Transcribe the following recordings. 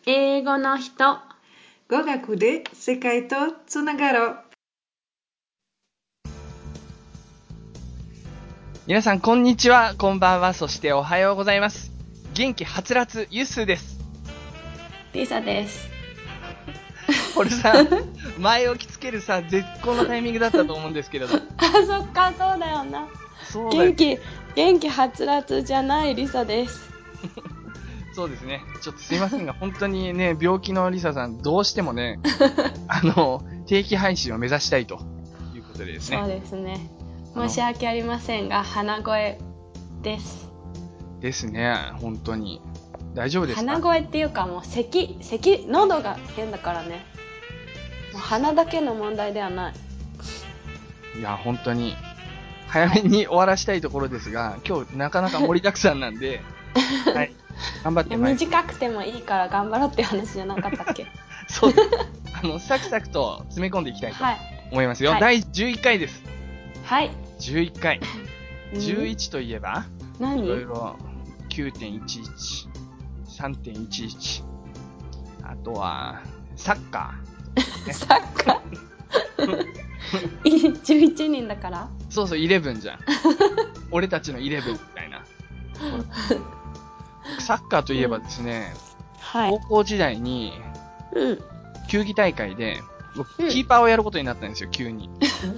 英語の人。 語学で世界とつながろう。 皆さんこんにちは、こんばんは、そしておはようございます。元気はつらつユッスーです。 リサです。 これさ、前置きつけるさ、絶好のタイミングだったと思うんですけれど。 そっか、そうだよな。 そうだよ。 元気はつらつじゃないリサです。 そうですね。ちょっとすいませんが、本当にね、病気のリサさん、どうしてもね、定期配信を目指したいということでですね。 そうですね。申し訳ありませんが、鼻声です。 ですね、本当に。大丈夫ですか？ 鼻声っていうかもう喉が変だからね。もう鼻だけの問題ではない。 いや、本当に、早めに終わらしたいところですが、今日なかなか盛りだくさんなんで、はい。頑張ってまいります。 短くてもいいから頑張ろうっていう話じゃなかったっけ？ そうです。サクサクと詰め込んでいきたいと思いますよ。はい、第11回です。 はい。 11回。11といえば、 何？ いろいろ 9.11、3.11、あとは、サッカー。サッカー11人だからそうそう、11じゃん。俺たちの11みたいな。サッカーといえばですね、 はい、 高校時代に、球技大会で、僕、キーパーをやることになったんですよ、急に。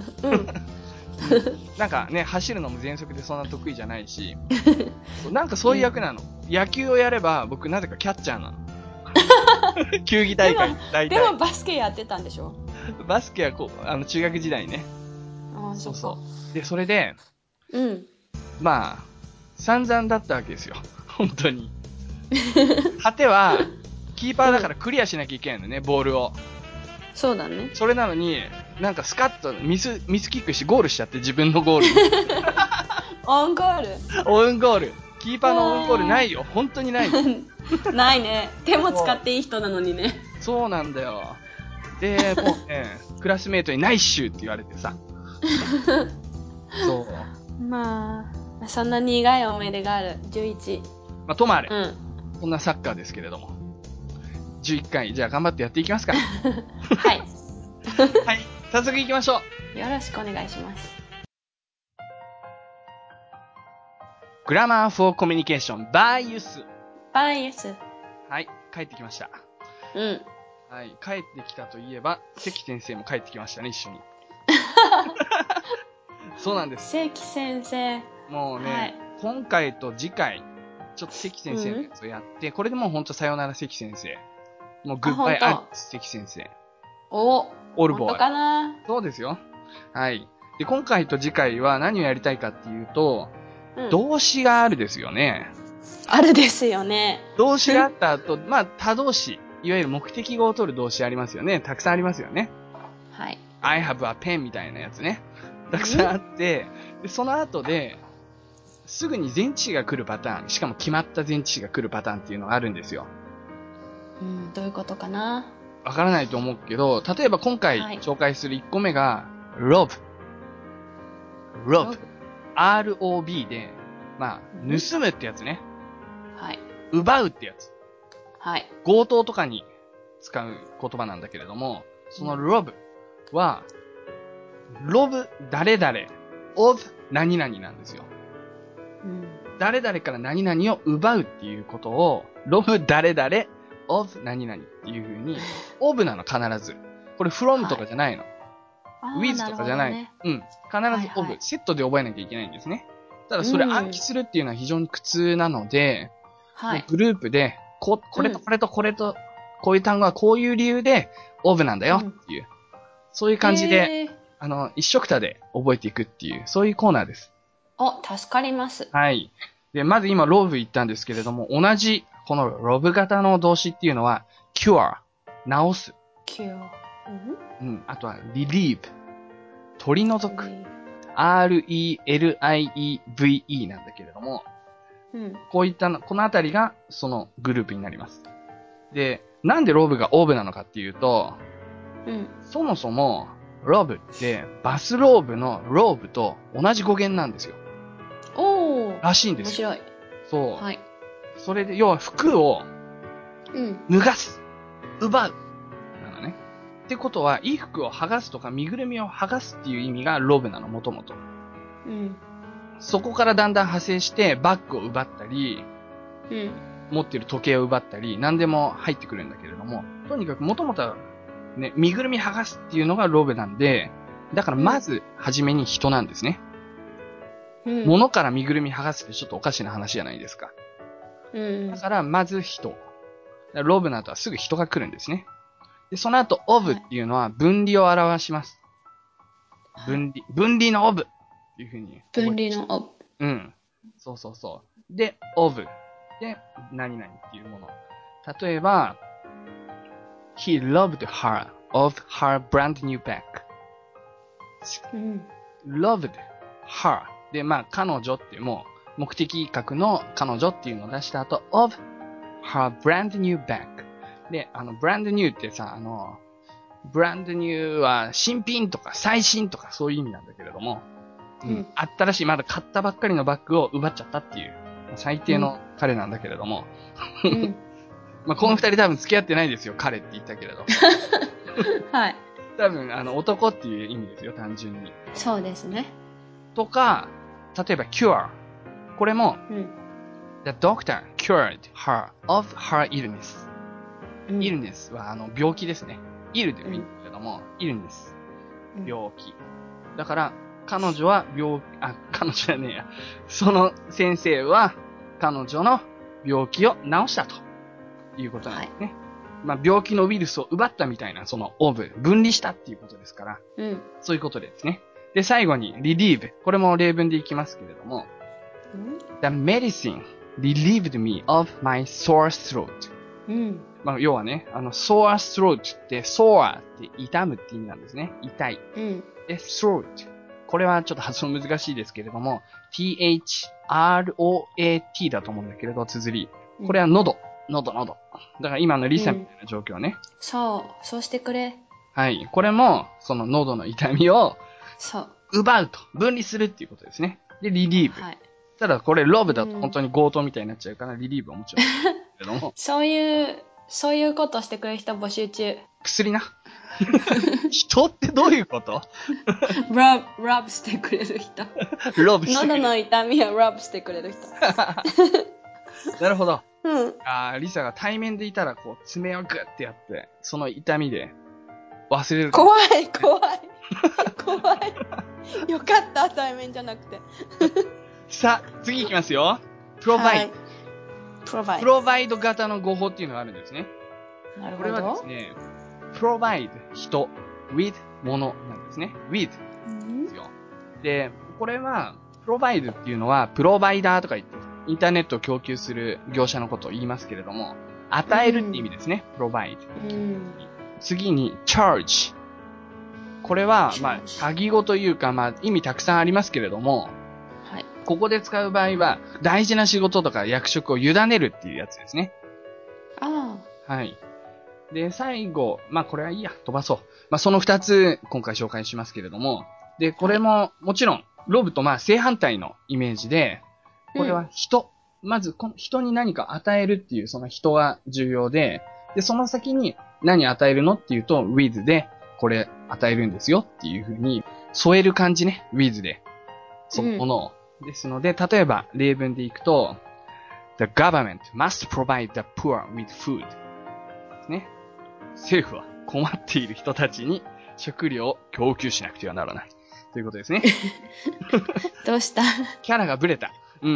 なんかね、走るのも全速でそんな得意じゃないし、なんかそういう役なの。野球をやれば、僕なぜかキャッチャーなの。球技大会、大体。 でもバスケやってたんでしょ？ バスケは中学時代ね。そうそう。で、それで、まあ、散々だったわけですよ。本当に。果ては、キーパーだからクリアしなきゃいけないのね、ボールを。 そうだね。 それなのに、なんかスカッとミスキックしてゴールしちゃって、自分のゴールに。 オウンゴール？ オウンゴール。キーパーのオウンゴールないよ。本当にない。 ないね。手も使っていい人なのにね。 そうなんだよ。で、もうね、クラスメートにナイスシューって言われてさ。そう。 まあ、そんな苦い思い出がある。11。 まあ、ともあれ。こんなサッカーですけれども。11回、じゃあ頑張ってやっていきますか。はい。はい。早速行きましょう。よろしくお願いします。 グラマー for Communication by ユス。 by ユス。 はい。帰ってきました。はい。帰ってきたといえば、関先生も帰ってきましたね、一緒に。そうなんです。 関先生。 もうね、今回と次回、ちょっと関先生のやつをやって、これでもうほんとさよなら関先生。もうグッバイアッツ関先生。 オルボーイ。本当かな？ そうですよ。はい。で、今回と次回は何をやりたいかっていうと、動詞があるですよね。 あるですよね。 動詞があった後、まあ、他動詞。いわゆる目的語を取る動詞ありますよね。たくさんありますよね。 はい。 I have a pen みたいなやつね。たくさんあって、で、その後で、すぐに前置詞が来るパターン、しかも決まった前置詞が来るパターンっていうのがあるんですよ。 どういうことかな？ わからないと思うけど、例えば今回紹介する1個目が、rob。R-O-B で、まあ、盗むってやつね。 はい。 奪うってやつ。 はい。 強盗とかに使う言葉なんだけれども、その rob は、rob 誰々 of 何々なんですよ。誰々から何々を奪うっていうことを、rob 誰々 of 何々っていう風に、of なの必ず。これ from とかじゃないの。with とかじゃない。必ず of、セットで覚えなきゃいけないんですね。ただそれ暗記するっていうのは非常に苦痛なので、グループで、これとこれとこれと、こういう単語はこういう理由で of なんだよっていう、そういう感じで、一緒くたで覚えていくっていう、そういうコーナーです。 助かります。 はい。で、まず今 rob 言ったんですけれども、同じ、この rob 型の動詞っていうのは、cure、治す。 cure。 あとは relieve、取り除く。R-E-L-I-E-V-E なんだけれども、こういった、このあたりがそのグループになります。で、なんでロブがオーブなのかっていうと、そもそもロブってバスローブのローブと同じ語源なんですよ。らしいんですよ。 面白い。 そう。はい。それで、要は服を脱がす、奪う、なのね。ってことは、衣服を剥がすとか身ぐるみを剥がすっていう意味がロブなの、もともと。そこからだんだん派生して、バッグを奪ったり、持ってる時計を奪ったり、何でも入ってくるんだけれども、とにかくもともとはね、身ぐるみ剥がすっていうのがロブなんで、だからまず、はじめに人なんですね。物から身ぐるみ剥がすってちょっとおかしな話じゃないですか。だから、まず人。ロブの後はすぐ人が来るんですね。で、その後、オブっていうのは分離を表します。分離のオブっていう風に。 分離のオブ。 そうそうそう。で、オブ。で、何々っていうもの。例えば、He loved her of her brand new bag. loved her. で、まあ、彼女っていうもう、目的格の彼女っていうのを出した後、of her brand new bag. で、brand new ってさ、brand new は新品とか最新とかそういう意味なんだけれども、新しい、まだ買ったばっかりのバッグを奪っちゃったっていう、最低の彼なんだけれども、まあ、この二人多分付き合ってないですよ、彼って言ったけれど。 はい。 多分、男っていう意味ですよ、単純に。 そうですね。 とか、例えば cure。これも、The doctor cured her of her illness。illness は病気ですね。ill でもいいんだけれども、illness。病気。だから、彼女は彼女じゃねえや。その先生は、彼女の病気を治したということなんですね。まあ、病気のウイルスを奪ったみたいな、そのオブ、分離したっていうことですから、そういうことですね。で、最後に、relieve。これも例文でいきますけれども、The medicine relieved me of my sore throat。まあ、要はね、sore throat って、sore って痛むって意味なんですね。痛い。で、throat。これはちょっと発音難しいですけれども、throat だと思うんだけれど、綴り。これは喉。だから今のリサみたいな状況ね。 そうしてくれ。 はい。これも、その喉の痛みを、奪うと。分離するっていうことですね。で、リリーブ。ただこれ、ロブだと本当に強盗みたいになっちゃうから、リリーブはもちろん。けどもそういうことしてくれる人募集中。 薬な。人ってどういうことラブしてくれる人。 ロブしてくれる。 喉の痛みをラブしてくれる人。 なるほど。リサが対面でいたら、こう、爪をグッてやって、その痛みで忘れる。 怖い。よかった、対面じゃなくて。 さあ、次行きますよ。プロバイド型の語法っていうのがあるんですね。 なるほど。 これはですね、provide 人、with ものなんですね。with ですよ。で、これは、provide っていうのは、プロバイダーとか言って、インターネットを供給する業者のことを言いますけれども、与えるって意味ですね。provide。次に、charge。これは、まあ、鍵語というか、まあ、意味たくさんありますけれども、ここで使う場合は、大事な仕事とか役職を委ねるっていうやつですね。はい。で、最後、まあ、これはいいや、飛ばそう。まあ、その二つ、今回紹介しますけれども、で、これも、もちろん、ロブとまあ、正反対のイメージで、これは人。まず、この人に何か与えるっていう、その人が重要で、で、その先に何与えるのっていうと、with で、これ与えるんですよっていう風に、添える感じね、with で。そのものを。ですので、例えば、例文でいくと、The government must provide the poor with food. ですね。政府は困っている人たちに食料を供給しなくてはならない。ということですね。 どうしたキャラがブレた。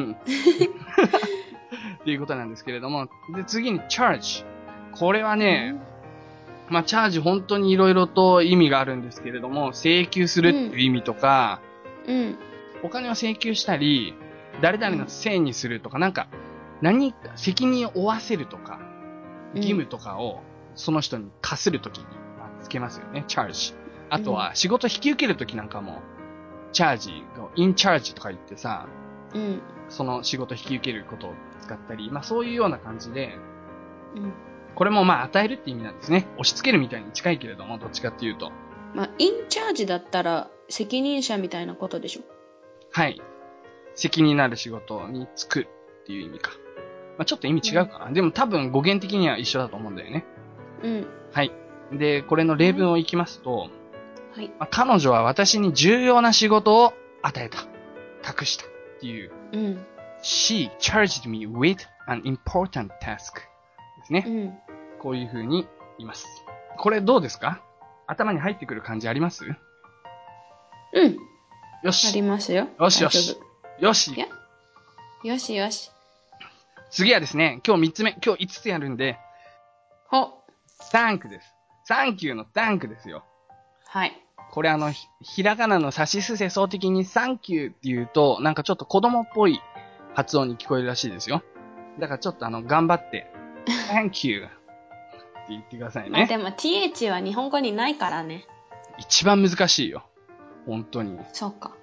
っていうことなんですけれども。で、次に charge。これはね、まあ、チャージ本当に色々と意味があるんですけれども、請求するっていう意味とか、お金を請求したり、誰々のせいにするとか、なんか、何か責任を負わせるとか、義務とかをその人に課するときにつけますよね、チャージ。あとは仕事引き受けるときなんかも、チャージ、インチャージとか言ってさ、その仕事引き受けることを使ったり、まあそういうような感じで、これもまあ与えるって意味なんですね。押し付けるみたいに近いけれども、どっちかっていうと。 まあ、インチャージだったら責任者みたいなことでしょ。 はい。責任のある仕事に就くっていう意味か。 まあ、ちょっと意味違うかな。でも多分語源的には一緒だと思うんだよね。 うん。 はい。で、これの例文をいきますと、 はい。 まあ、彼女は私に重要な仕事を与えた。託した。っていう。 うん。 She charged me with an important task. ですね。 うん。 こういう風に言います。これどうですか？頭に入ってくる感じあります？ うん。あよし。 りますよ。 よしよし大丈夫。 よし。 いや。よしよし。 次はですね、今日3つ目、今日5つやるんで、 ほ。 thank です。thank you の thank ですよ。 はい。 これひらがなのさしすせそう的に thank you って言うと、なんかちょっと子供っぽい発音に聞こえるらしいですよ。だからちょっと頑張って、thank you って言ってくださいまあでね。 も th は日本語にないからね。 一番難しいよ。本当に。 そうか。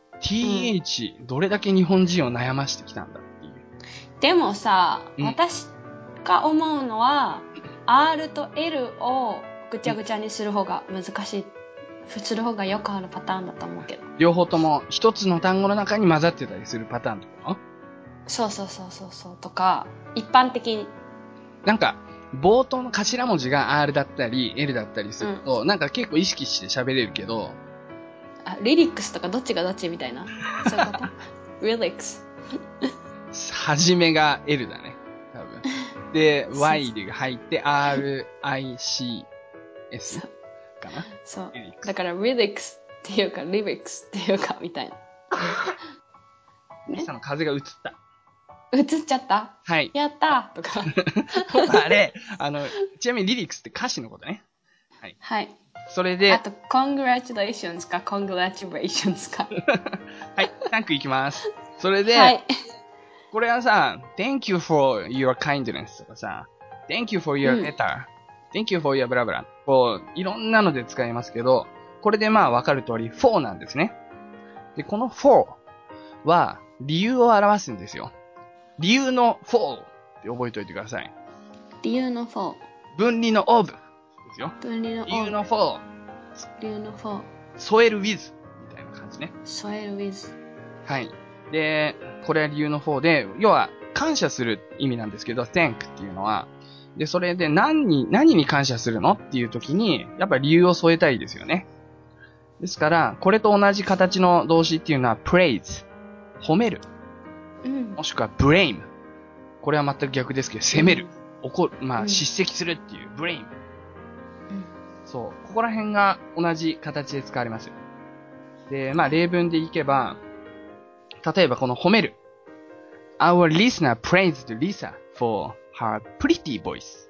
th、どれだけ日本人を悩ましてきたんだっていう。 でもさ、 うん私が思うのは、R と L をぐちゃぐちゃにする方が難しい。する方がよくあるパターンだと思うけど。 両方とも一つの単語の中に混ざってたりするパターンってこと？ そうそうそうそうそうとか、一般的に。 なんか、冒頭の頭文字が R だったり L だったりすると、なんか結構意識して喋れるけど、 あ、リリックスとかどっちがどっちみたいな。そういうことリリックス。 初めが L だね。多分。で、Y が入って RICS かな。 そうリリック。スだからリリックスっていうか、リリックスっていうか、みたいな。 リサの風が映った。 映っちゃったはい。 やったーとか。 あれ、ちなみにリリックスって歌詞のことね。はい。 はい。 それで、 あと、congratulations か congratulations か。 はい、タンクいきます。それで、 はい。 これはさ、thank you for your kindness とかさ、thank you for your letter、thank you for your blah blah こう、いろんなので使いますけど、これでまあわかる通り for なんですね。で、この for は理由を表すんですよ。理由の for って覚えておいてください。 理由の for。 分離の of ですよ。 分離の of。 理由の for。 理由の for。 添える with みたいな感じね。 添える with。 はい。で、これは理由の方で、要は感謝する意味なんですけど、thank っていうのは。で、それで何に感謝するのっていう時に、やっぱり理由を添えたいですよね。ですから、これと同じ形の動詞っていうのは praise、褒める。もしくは blame。これは全く逆ですけど、責める。怒る。まあ、叱責するっていう blame。そう。ここら辺が同じ形で使われます。で、まあ、例文でいけば、例えばこの褒める。Our listener praised Lisa for her pretty voice.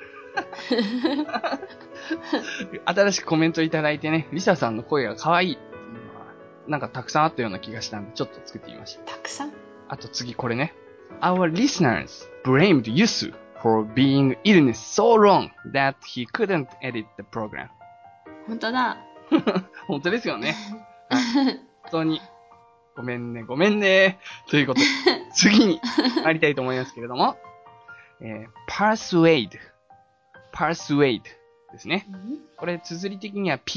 新しくコメントいただいてね、リサさんの声が可愛いっていうのは、なんかたくさんあったような気がしたんで、ちょっと作ってみました。 たくさんあと次これね。Our listeners blamed Yusu for being illness so long that he couldn't edit the program. 本当だ。 本当ですよね。本当に。ごめんね。ということで、次に参りたいと思いますけれども、persuade ですね。これ、綴り的には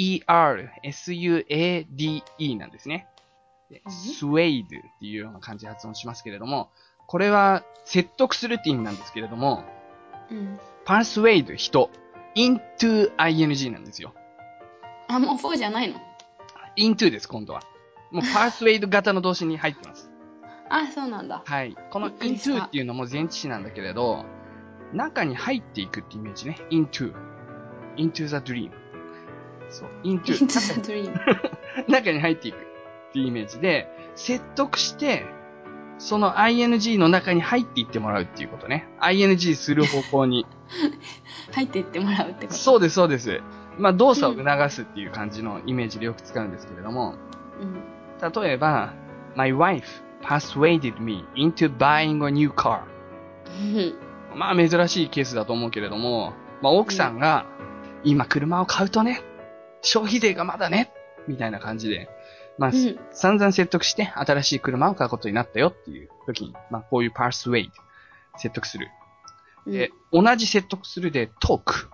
P-E-R-S-U-A-D-E なんですね。suade っていうような感じで発音しますけれども、これは説得するって意味なんですけれども、persuade 人、into ing なんですよ。 あ、もう4じゃないの？ into です、今度は。もう persuade 型の動詞に入ってます。 あ、そうなんだ。 はい。この into っていうのも前置詞なんだけれど、中に入っていくってイメージね。into the dream。そう。into the dream。 中に入っていくっていうイメージで、説得して、その ing の中に入っていってもらうっていうことね。ing する方向に。 入っていってもらうってこと？ そうです、そうです。まあ、動作を促すっていう感じのイメージでよく使うんですけれども、例えば、My wife persuaded me into buying a new car. まあ珍しいケースだと思うけれども、まあ奥さんが、今車を買うとね、消費税がまだね、みたいな感じで、まあ、散々説得して新しい車を買うことになったよっていう時に、まあこういう persuade、説得する。で、同じ説得するで talk。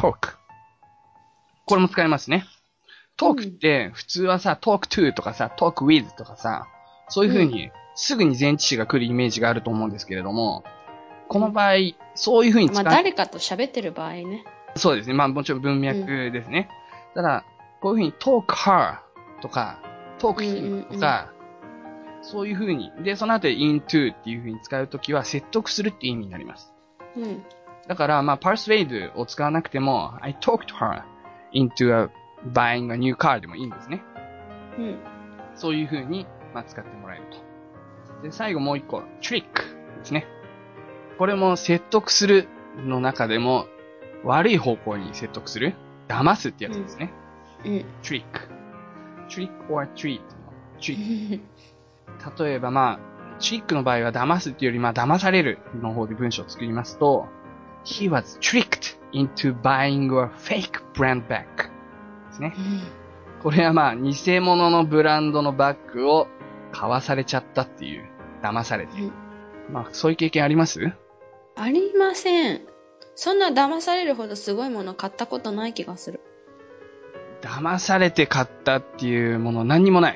これも使えますね。talk って普通はさ、talk to とかさ、talk with とかさ、そういう風にすぐに前置詞が来るイメージがあると思うんですけれども、 この場合、そういう風に使う。 まあ誰かと喋ってる場合ね。 そうですね。まあもちろん文脈ですね。ただ、こういう風に talk her とか、talk him とか、そういう風に。で、その後で into っていう風に使うときは説得するっていう意味になります。 うん。 だから、まあ persuade を使わなくても、I talked her into buying a new car でもいいんですね。 うん。 そういう風に、まあ使ってもらえると。で、最後もう一個、trick ですね。これも説得するの中でも、悪い方向に説得する。騙すってやつですね。trick. trick or treat の trick. 例えばまあ、トリックの場合は騙すっていうよりまあ騙されるの方で文章を作りますと、He was tricked into buying a fake brand bag ですね。これはまあ、偽物のブランドのバッグを買わされちゃったっていう、騙されて。まあ、そういう経験あります？ ありません。そんな騙されるほどすごいもの買ったことない気がする。 騙されて買ったっていうもの何にもない。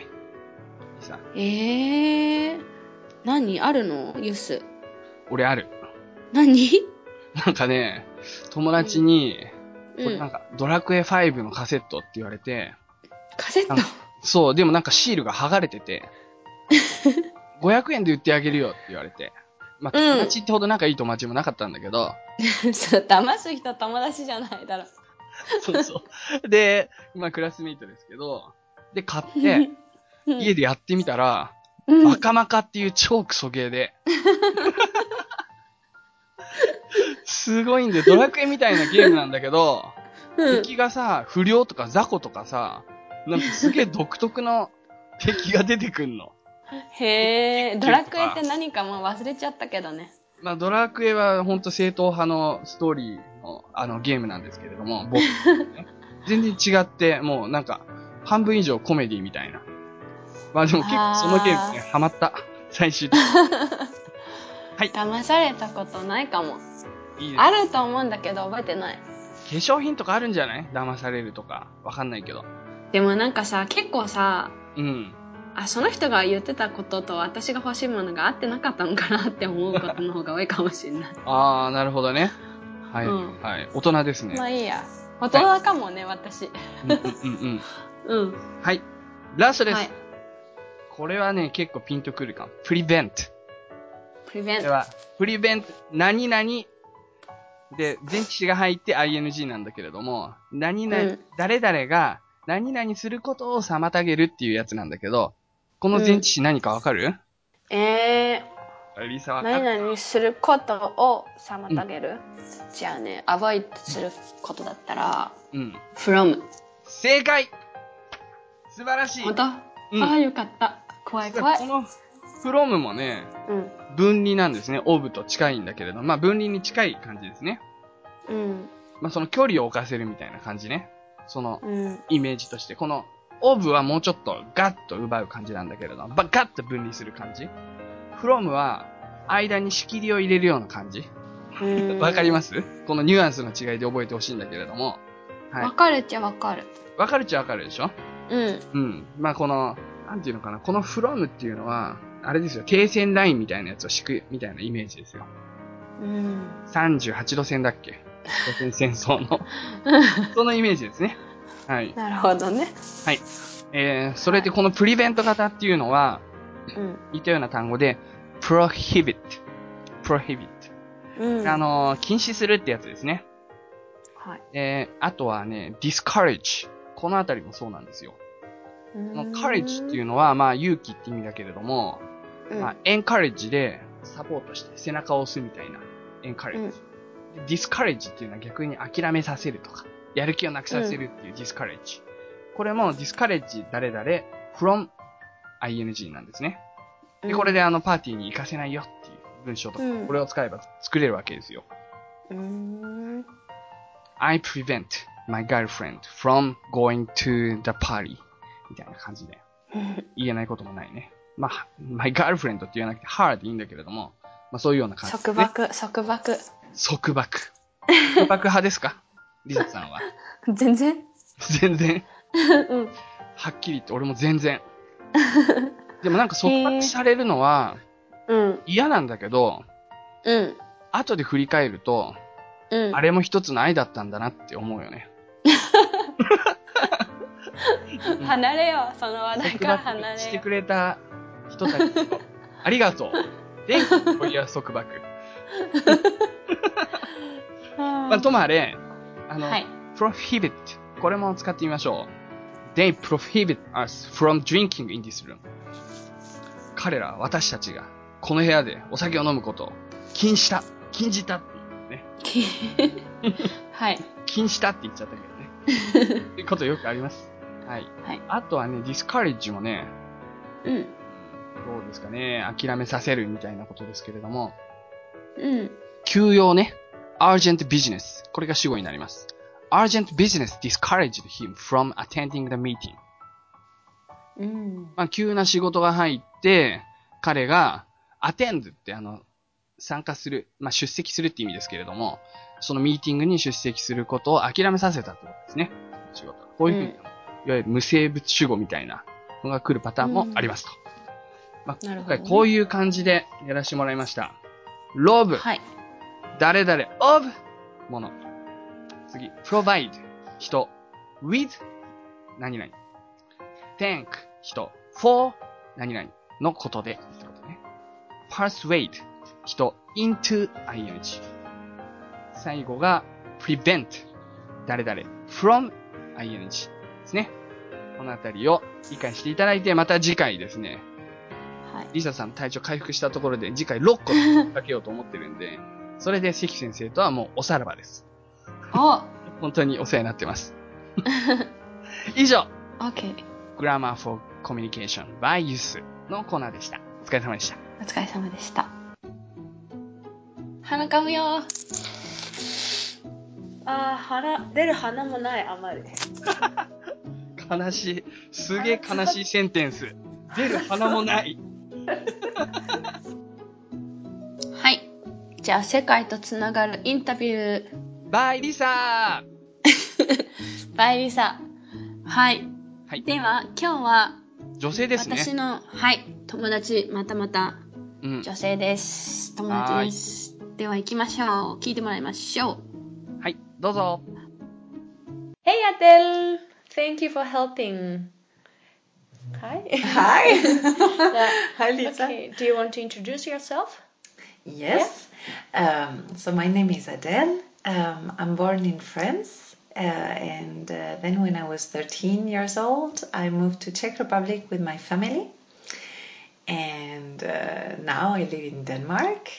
何あるのユス。 俺ある。 何？ なんかね、友達に、これなんか、ドラクエ5のカセットって言われて、 カセット？ そう、でもなんかシールが剥がれてて、500円で売ってあげるよって言われて。まあ、友達ってほど仲いい友達もなかったんだけど。 そう、騙す人友達じゃないだろ。 そうそう。で、まあクラスメイトですけど、で、買って、家でやってみたら、バカマカっていう超クソゲーで。すごいんだよ。ドラクエみたいなゲームなんだけど、敵がさ、不良とか雑魚とかさ、なんかすげえ独特の敵が出てくんの。 へー、ドラクエって何かもう忘れちゃったけどね。 まあドラクエはほんと正統派のストーリーのゲームなんですけれども、僕、ね、全然違って、もうなんか、半分以上コメディみたいな。まあでも結構そのゲームね、ハマった。最終的に。はい。 騙されたことないかも。 いいです。 あると思うんだけど覚えてない。 化粧品とかあるんじゃない？騙されるとか。わかんないけど。 でもなんかさ、結構さ、その人が言ってたことと私が欲しいものが合ってなかったのかなって思うことの方が多いかもしれない。 あー、なるほどね。はい。はい。大人ですね。 まあいいや。大人かもね、私。 はい。ラストです。これはね、結構ピンとくるかも。prevent。これは、prevent 何々で、前置詞が入って ing なんだけれども、何々、誰々が何々することを妨げるっていうやつなんだけど、この前置詞何かわかる？リサわかる？ 何々することを妨げる？じゃあね、avoid することだったら、from。 正解！素晴らしい。 本当？よかった。怖い怖い。 この from もね、分離なんですね。of と近いんだけれど、まあ分離に近い感じですね。まあその距離を置かせるみたいな感じね。そのイメージとして。この of はもうちょっとガッと奪う感じなんだけれど、ガッと分離する感じ。from は間に仕切りを入れるような感じ。わかります？このニュアンスの違いで覚えてほしいんだけれども。 わかるっちゃわかる。 わかるっちゃわかるでしょ？まあこの、なんていうのかな。この from っていうのは、あれですよ。停戦ラインみたいなやつを敷くみたいなイメージですよ。38度線だっけ？朝鮮戦争の。そのイメージですね。はい。 なるほどね。 はい。それでこのプリベント型っていうのは、似たような単語で、prohibit。禁止するってやつですね。 はい。 あとはね、discourage。このあたりもそうなんですよ。courage っていうのは、まあ、勇気って意味だけれども、まあ、encourage でサポートして背中を押すみたいな、encourage。discourage っていうのは逆に諦めさせるとか、やる気をなくさせるっていう discourage。これも discourage 誰々 from ing なんですね。で、これでパーティーに行かせないよっていう文章とか、これを使えば作れるわけですよ。I prevent my girlfriend from going to the party みたいな感じで。言えないこともないね。まあ、my girlfriend って言わなくて her でいいんだけれども、まあそういうような感じですね。 束縛派ですか？リサさんは。 全然はっきり言って俺も全然。でもなんか束縛されるのは、嫌なんだけど、 後で振り返ると、 うん。 あれも一つの愛だったんだなって思うよね。 離れよう。その話題から離れよう。 してくれた人たちをありがとう。Thank you for your 束縛。まあ、ともあれ、 はい。 prohibit。これも使ってみましょう。They prohibit us from drinking in this room. 彼ら、私たちが、この部屋でお酒を飲むことを禁じたっていうね。 はい。 禁じたって言っちゃったけどね。っていうことよくあります。はい。 はい。 あとはね、discourage もね、 うん。 どうですかね、諦めさせるみたいなことですけれども、 うん。 急用ね、urgent business。これが主語になります。urgent business discouraged him from attending the meeting。 うん。 まあ、急な仕事が入って、彼が attend って参加する、まあ、出席するって意味ですけれども、そのミーティングに出席することを諦めさせたってことですね。仕事。こういうふうに、いわゆる無生物主語みたいなのが来るパターンもありますと。まあ、今回こういう感じでやらせてもらいました。love、 はい。 誰々 of もの。次、provide 人 with 何々 thank 人 for 何々のことでってことね。persuade 人 into ing。最後が prevent 誰々 from ing ですね。このあたりを理解していただいて、また次回ですね。 はい。 リサさん体調回復したところで次回6個かけようと思ってるんで、それで関先生とはもうおさらばです。 お本当にお世話になってます。以上、 OK。 Grammar for Communication by Yus のコーナーでした。お疲れ様でした。 お疲れ様でした。鼻かむよ。出る鼻もない、あまり。 悲しい。すげえ悲しいセンテンス。出る鼻もない。 はい。じゃあ、世界とつながるインタビュー。 バイリサーバイリサ。はい。 はい。 では、今日は、 女性ですね。 私の、はい、友達、またうん。 女性です。友達です。では行きましょう。聞いてもらいましょう。 はい、どうぞ。 Hey Adele! Thank you for helping. Hi. Hi. Hi, Lisa. Okay. Do you want to introduce yourself? Yes. So my name is Adele. I'm born in France. And then when I was 13 years old, I moved to Czech Republic with my family. And now I live in Denmark.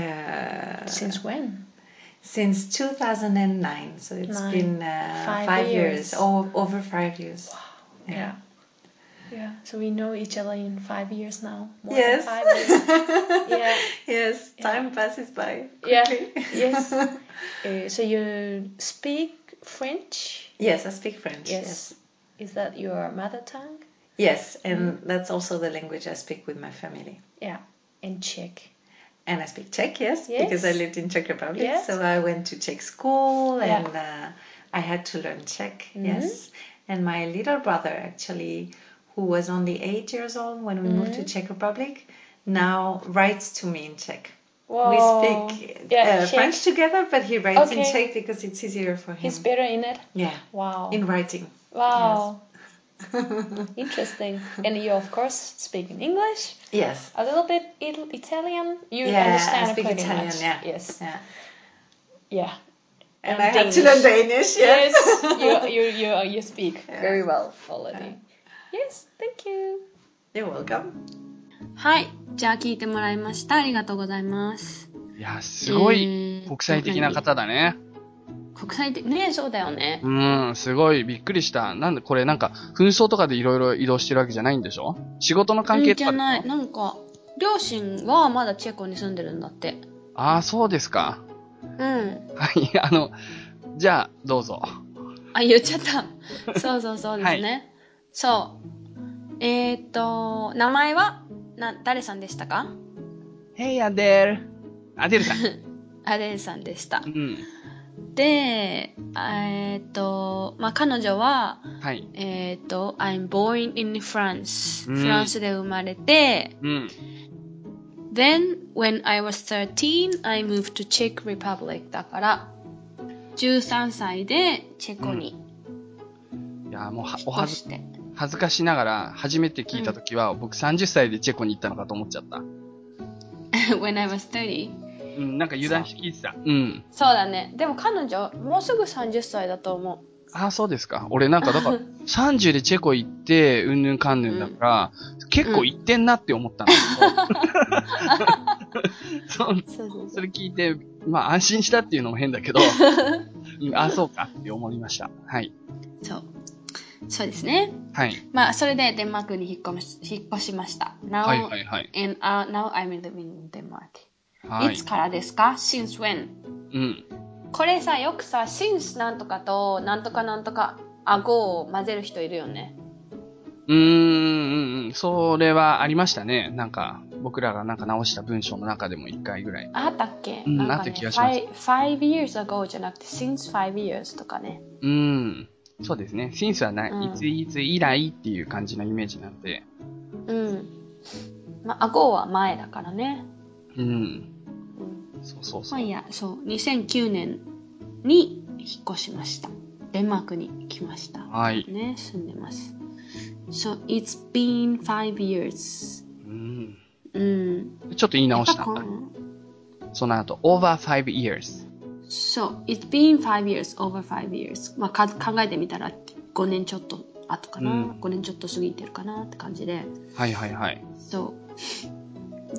Since when? Since 2009. So it's been 5 years. Over 5 years. Wow. Yeah. Yeah. So we know each other in 5 years now. More Yes. than 5 years. Yeah. Yes. Time passes by Yeah. quickly. Yes. So you speak French? Yes, I speak French. Yes. Is that your mother tongue? Yes, and that's also the language I speak with my family. Yeah. And Czech. And I speak Czech, yes, because I lived in Czech Republic. Yes. So I went to Czech school and I had to learn Czech, yes. And my little brother, actually, who was only 8 years old when we moved to Czech Republic, now writes to me in Czech. Whoa. We speak French together, but he writes in Czech because it's easier for him. He's better in it? Yeah. Wow. In writing. Wow. Yes. Interesting. And you, of course, speak in English? Yes. A little bit Italian? You understand I speak pretty Italian, much. yeah. Yes. Yeah. Yeah. And I had to learn Danish, yes. Yes, you speak very well already. Yes, thank you. You're welcome. はい。じゃあ聞いてもらいました。ありがとうございます。 いや、すごい国際的な方だね。 国際的ね、そうだよね。 すごいびっくりした。なんでこれなんか紛争とかでいろいろ移動してるわけじゃないんでしょ？仕事の関係とかでしょ？ じゃない。なんか、両親はまだチェコに住んでるんだって。 ああ、そうですか。 うん。 はい、じゃあ、どうぞ。 あ、言っちゃった。そうですね。はい、そう。名前は、誰さんでしたか？ Hey, Adele. アデルさん。 アデルさんでした。 うん。 で、彼女は、 はい。 I'm born in France。フランスで生まれて、 Then, when I was 13, I moved to Czech Republic. だから、13歳でチェコにいや、もう引っ越して。 恥ずかしながら、初めて聞いたときは、僕30歳でチェコに行ったのかと思っちゃった。 When I was 30? うん、なんか油断して聞いてた。うん。 そうだね。でも彼女、もうすぐ30歳だと思う。 ああ、そうですか。俺なんか、だから、30でチェコ行って、うんぬんかんぬんだから、結構行ってんなって思ったんだけど。それ聞いて、まあ安心したっていうのも変だけど、あ、そうかって思いました。はい。 そうですね。 はい。 まあ、それでデンマークに引っ越しました。Now, はいはいはい。 now I'm living in Denmark. はい。 いつからですか ?Since when? うん。 これさ、よくさ、since なんとかと、なんとかなんとか、顎を混ぜる人いるよね。 それはありましたね。なんか、僕らがなんか直した文章の中でも1回ぐらい。 あったっけ、 うん、 なんかね、 あった気がします。 5 years ago じゃなくて、since 5 years とかね。 そうですね。since はない、いつ以来っていう感じのイメージなんで。 まあ、顎は前だからね。 そう。 まあいや、そう、2009年に引っ越しました。デンマークに来ました。 はい。 ね、住んでます。So, it's been 5 years. ちょっと言い直したんだ。その後、over 5 years. So, it's been 5 years, over 5 years. まあ、考えてみたら5年ちょっと後かな。5年ちょっと過ぎてるかなって感じで。 はいはいはい。 そう。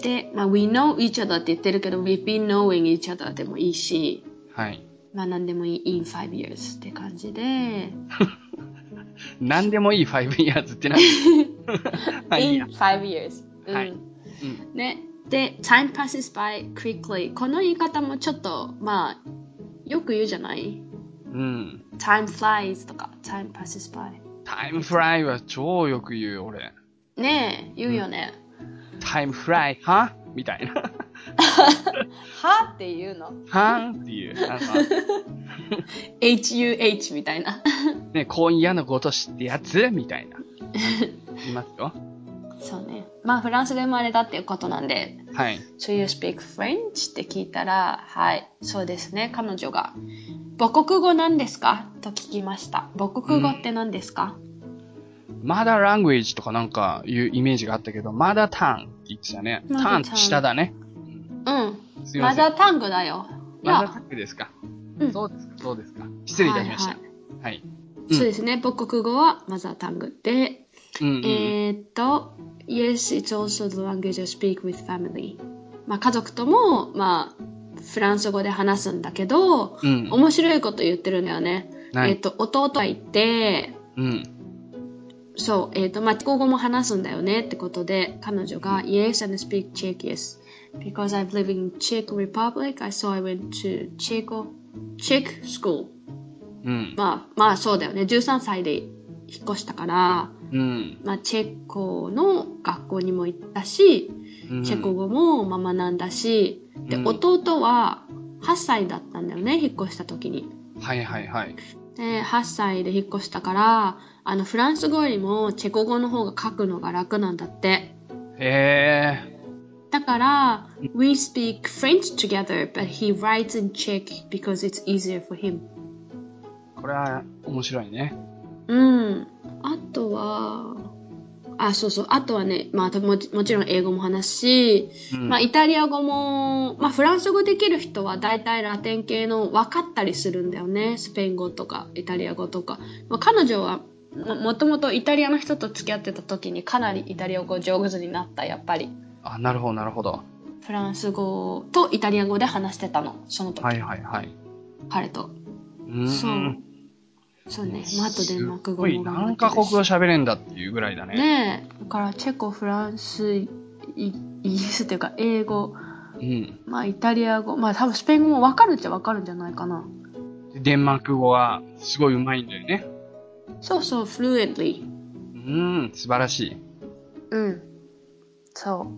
で、まあ、we know each other って言ってるけど、we've been knowing each other でもいいし、 はい。 まあ、何でもいい in 5 years って感じで、 何でもいい5 years って何 in 5 years。 はい。 ね。で、time passes by quickly。この言い方もちょっと、まあ、よく言うじゃない？ time flies とか、time passes by。time fly は超よく言うよ、俺。 ねえ、言うよね。 time fly, はみたいな。 はって言うのはっていう。 HUH みたいな。 ね、今夜のごとしってやつみたいな。言いますよ。 そうね。まあ、フランスで生まれたっていうことなんで。 はい。 So you speak French? って聞いたら、はい、そうですね。彼女が、母国語なんですかと聞きました。母国語って何ですか？ マダーラングエージとかなんかいうイメージがあったけど、マダータンって言ってたね。タンって下だね。 すいません。マダータングだよ。 マダータングですか。そうですか。失礼いたしました。はい。 そうですね。母国語はマザータングで、Yes, it's also the language I speak with family. まあ家族とも、まあ、フランス語で話すんだけど、面白いこと言ってるんだよね。弟がいて、そう、まあ、チェコ語も話すんだよねってことで、彼女が、Yes, and speak Czech, yes. Because I've lived in Czech Republic, so I went to Czech school. まあそうだよね。13歳で引っ越したから、まあチェコの学校にも行ったし、チェコ語も学んだし、で、弟は8歳だったんだよね、引っ越した時に。 はいはいはい。 で、8歳で引っ越したから、フランス語よりもチェコ語の方が書くのが楽なんだって。だから、we speak French together, but he writes in Czech because it's easier for him. これは面白いね。 あとは、あとはね、まあもちろん英語も話すし、まあイタリア語も、まあフランス語できる人は大体ラテン系の分かったりするんだよね。スペイン語とかイタリア語とか。まあ、彼女はもともとイタリアの人と付き合ってた時にかなりイタリア語上手になった、やっぱり。 あ、なるほどなるほど。 フランス語とイタリア語で話してたの、その時。はいはいはい。彼と。そうね。まあ、あとデンマーク語も頑張ってるし。 何カ国語喋れんだっていうぐらいだね。 ねえ。だからチェコ、フランス、イギリスっていうか英語、まあイタリア語、まあ多分スペイン語も分かるっちゃ分かるんじゃないかな。 デンマーク語はすごい上手いんだよね。 そうそう、fluently。 素晴らしい。 そう。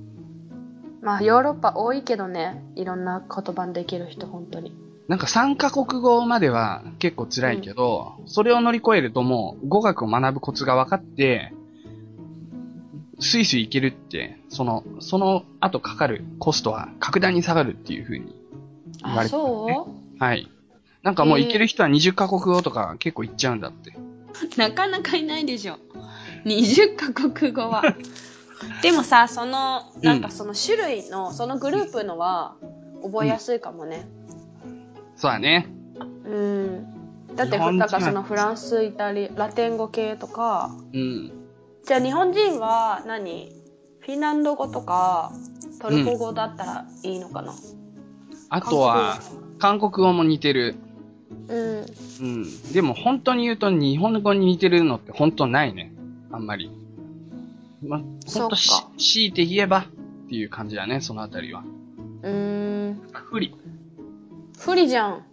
まあヨーロッパ多いけどね、いろんな言葉できる人、本当に。 なんか3カ国語までは結構辛いけど、それを乗り越えるともう語学を学ぶコツが分かって、 スイスイ行けるって、その後かかるコストは格段に下がるっていう風に言われてますね。 そうはい。なんかもう行ける人は20カ国語とか結構行っちゃうんだって。 なかなかいないでしょ。20カ国語は。でもさ、なんかその種類の、そのグループのは覚えやすいかもね。 そうだね。 だって、なんかそのフランス、イタリア、ラテン語系とか。じゃあ日本人はフィンランド語とかトルコ語だったらいいのかな。 あとは、韓国語も似てる。でも本当に言うと日本語に似てるのって本当ないね。あんまり。本当強いて言えばっていう感じだね、そのあたりは。不利じゃん。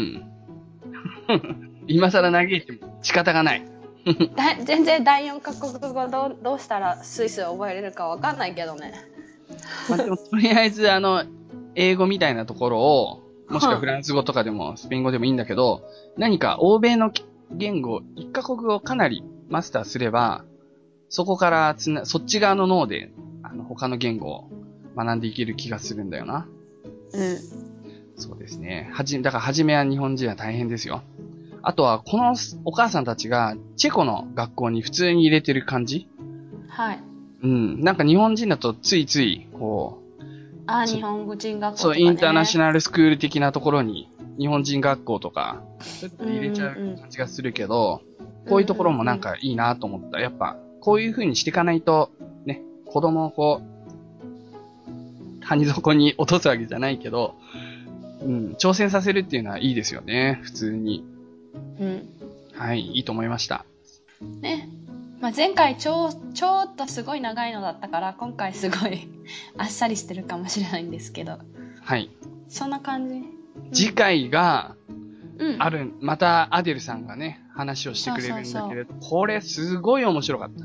今更嘆いても仕方がない。 全然第4カ国語どうしたらスイスを覚えれるかわかんないけどね。 でもとりあえず英語みたいなところを、もしくはフランス語とかでもスペイン語でもいいんだけど、何か欧米の言語、1カ国語をかなりマスターすれば、そこからそっち側の脳で、他の言語を学んでいける気がするんだよな。そうですね。だから初めは日本人は大変ですよ。あとは、このお母さんたちがチェコの学校に普通に入れてる感じ。 はい。 なんか日本人だとついつい、こう、 日本人学校とかね。 そう、インターナショナルスクール的なところに、日本人学校とか、入れちゃう感じがするけど、こういうところもなんかいいなと思った。やっぱ、こういう風にしていかないと、ね、子供をこう、谷底に落とすわけじゃないけど、挑戦させるっていうのはいいですよね、普通に。はい、いいと思いました。 ね。前回ちょっとすごい長いのだったから、今回すごいあっさりしてるかもしれないんですけど。 はい。 そんな感じ。 次回が、またアデルさんがね、話をしてくれるんだけれど、これすごい面白かった。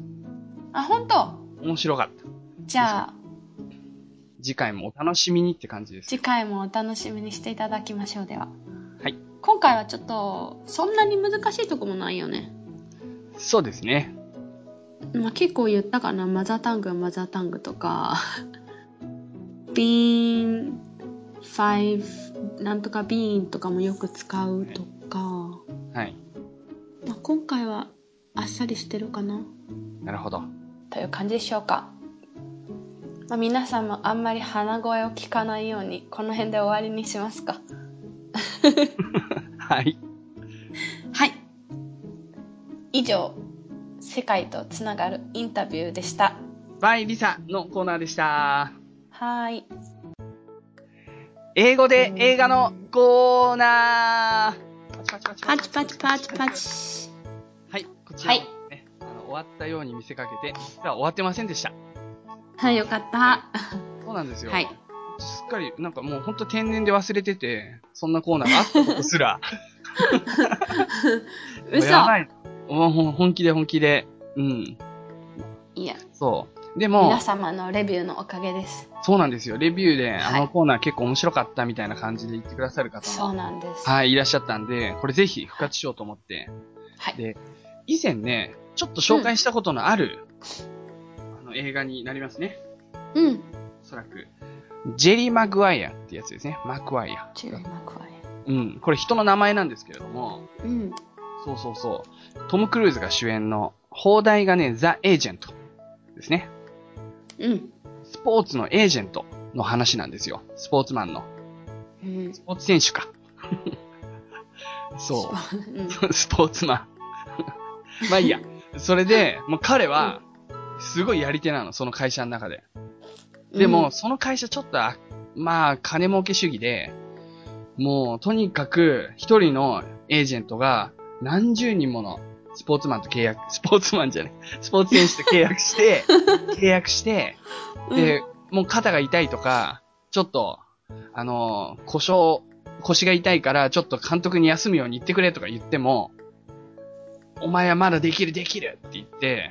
本当？ 面白かった。 じゃあ、 次回もお楽しみにって感じです。 次回もお楽しみにしていただきましょう。では。 はい。 今回はちょっと、そんなに難しいとこもないよね。そうですね。 結構言ったかな。マザータングはマザータングとか、bean, five, なんとか bean とかもよく使うとか。 はい。 今回はあっさりしてるかな。 なるほど。 という感じでしょうか。皆さんもあんまり鼻声を聞かないように、この辺で終わりにしますか。 はい。 はい。以上、世界とつながるインタビューでした。 バイリサのコーナーでした。 はい。 英語で映画のコーナー。 パチパチパチパチ。 はい、こちら、ね、終わったように見せかけて、実は終わってませんでした。 はい、よかった。 そうなんですよ。 はい。 すっかり、なんかもうほんと天然で忘れてて、そんなコーナーがあったことすら。 嘘。 やばい。本気で。 いや。 そう。でも、 皆様のレビューのおかげです。 そうなんですよ。レビューで、コーナー結構面白かったみたいな感じで言ってくださる方も。 そうなんです。 はい、いらっしゃったんで、これぜひ復活しようと思って。 はい。 で、以前ね、ちょっと紹介したことのある、映画になりますね。おそらく。ジェリー・マグワイアってやつですね。マグワイア。 ジェリー・マグワイア。これ人の名前なんですけれども。そう。トム・クルーズが主演の、放題がね、ザ・エージェントですね。スポーツのエージェントの話なんですよ。スポーツマンの。スポーツ選手か。そう。スポーツマン。まあいいや。それで、もう彼は、すごいやり手なの、その会社の中で。でも、その会社ちょっと、金儲け主義で、もう、とにかく、一人のエージェントが、何十人ものスポーツマンと契約、スポーツ選手と契約して、で、もう肩が痛いとか、ちょっと、腰が痛いから、ちょっと監督に休むように言ってくれとか言っても、お前はまだできるって言って、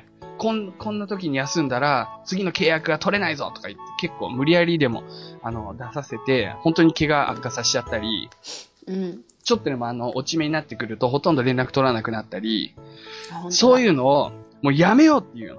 こんな時に休んだら、次の契約が取れないぞとか言って、結構無理やりでも、出させて、本当に怪我悪化させちゃったり、ちょっとでも落ち目になってくると、ほとんど連絡取らなくなったり、そういうのを、もうやめようっていうの。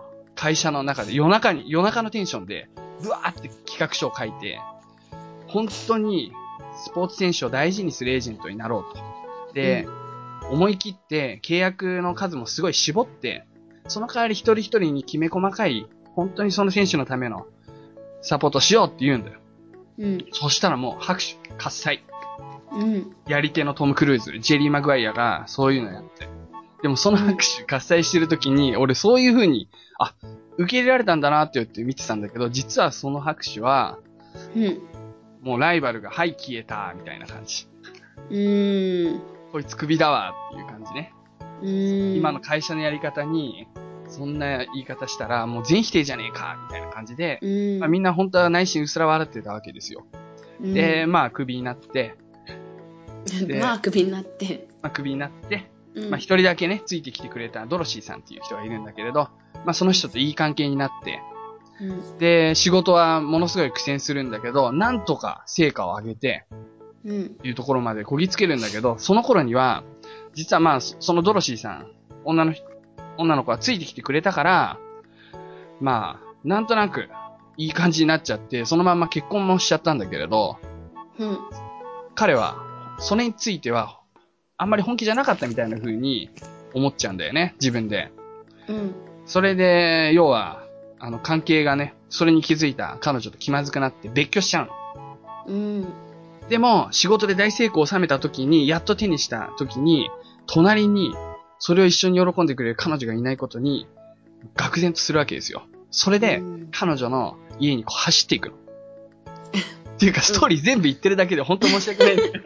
会社の中で夜中のテンションで、ブワーって企画書を書いて、本当にスポーツ選手を大事にするエージェントになろうと。で、思い切って契約の数もすごい絞って、その代わり一人一人にきめ細かい、本当にその選手のためのサポートしようって言うんだよ。そしたらもう拍手、喝采。やり手のトム・クルーズ、ジェリー・マグワイアがそういうのやって。でもその拍手、喝采してる時に、俺そういう風に、受け入れられたんだなって言って見てたんだけど、実はその拍手は、もうライバルが、はい、消えた、みたいな感じ。こいつクビだわ、っていう感じね。今の会社のやり方に、そんな言い方したら、もう全否定じゃねえか、みたいな感じで、みんな本当は内心うすら笑ってたわけですよ。で、クビになって、 クビになって。 クビになって、一人だけね、ついてきてくれたドロシーさんっていう人がいるんだけれど、その人といい関係になって、で、仕事はものすごい苦戦するんだけど、なんとか成果を上げて、いうところまでこぎつけるんだけど、その頃には、実はそのドロシーさん、女の子がついてきてくれたから、なんとなく、いい感じになっちゃって、そのまんま結婚もしちゃったんだけれど、彼は、それについては、あんまり本気じゃなかったみたいな風に思っちゃうんだよね、自分で。それで、要は、関係がね、それに気づいた彼女と気まずくなって別居しちゃうの。でも、仕事で大成功を収めた時に、やっと手にした時に、隣に、それを一緒に喜んでくれる彼女がいないことに、愕然とするわけですよ。それで、彼女の家に走っていくの。っていうか、ストーリー全部言ってるだけで本当申し訳ないんだけど。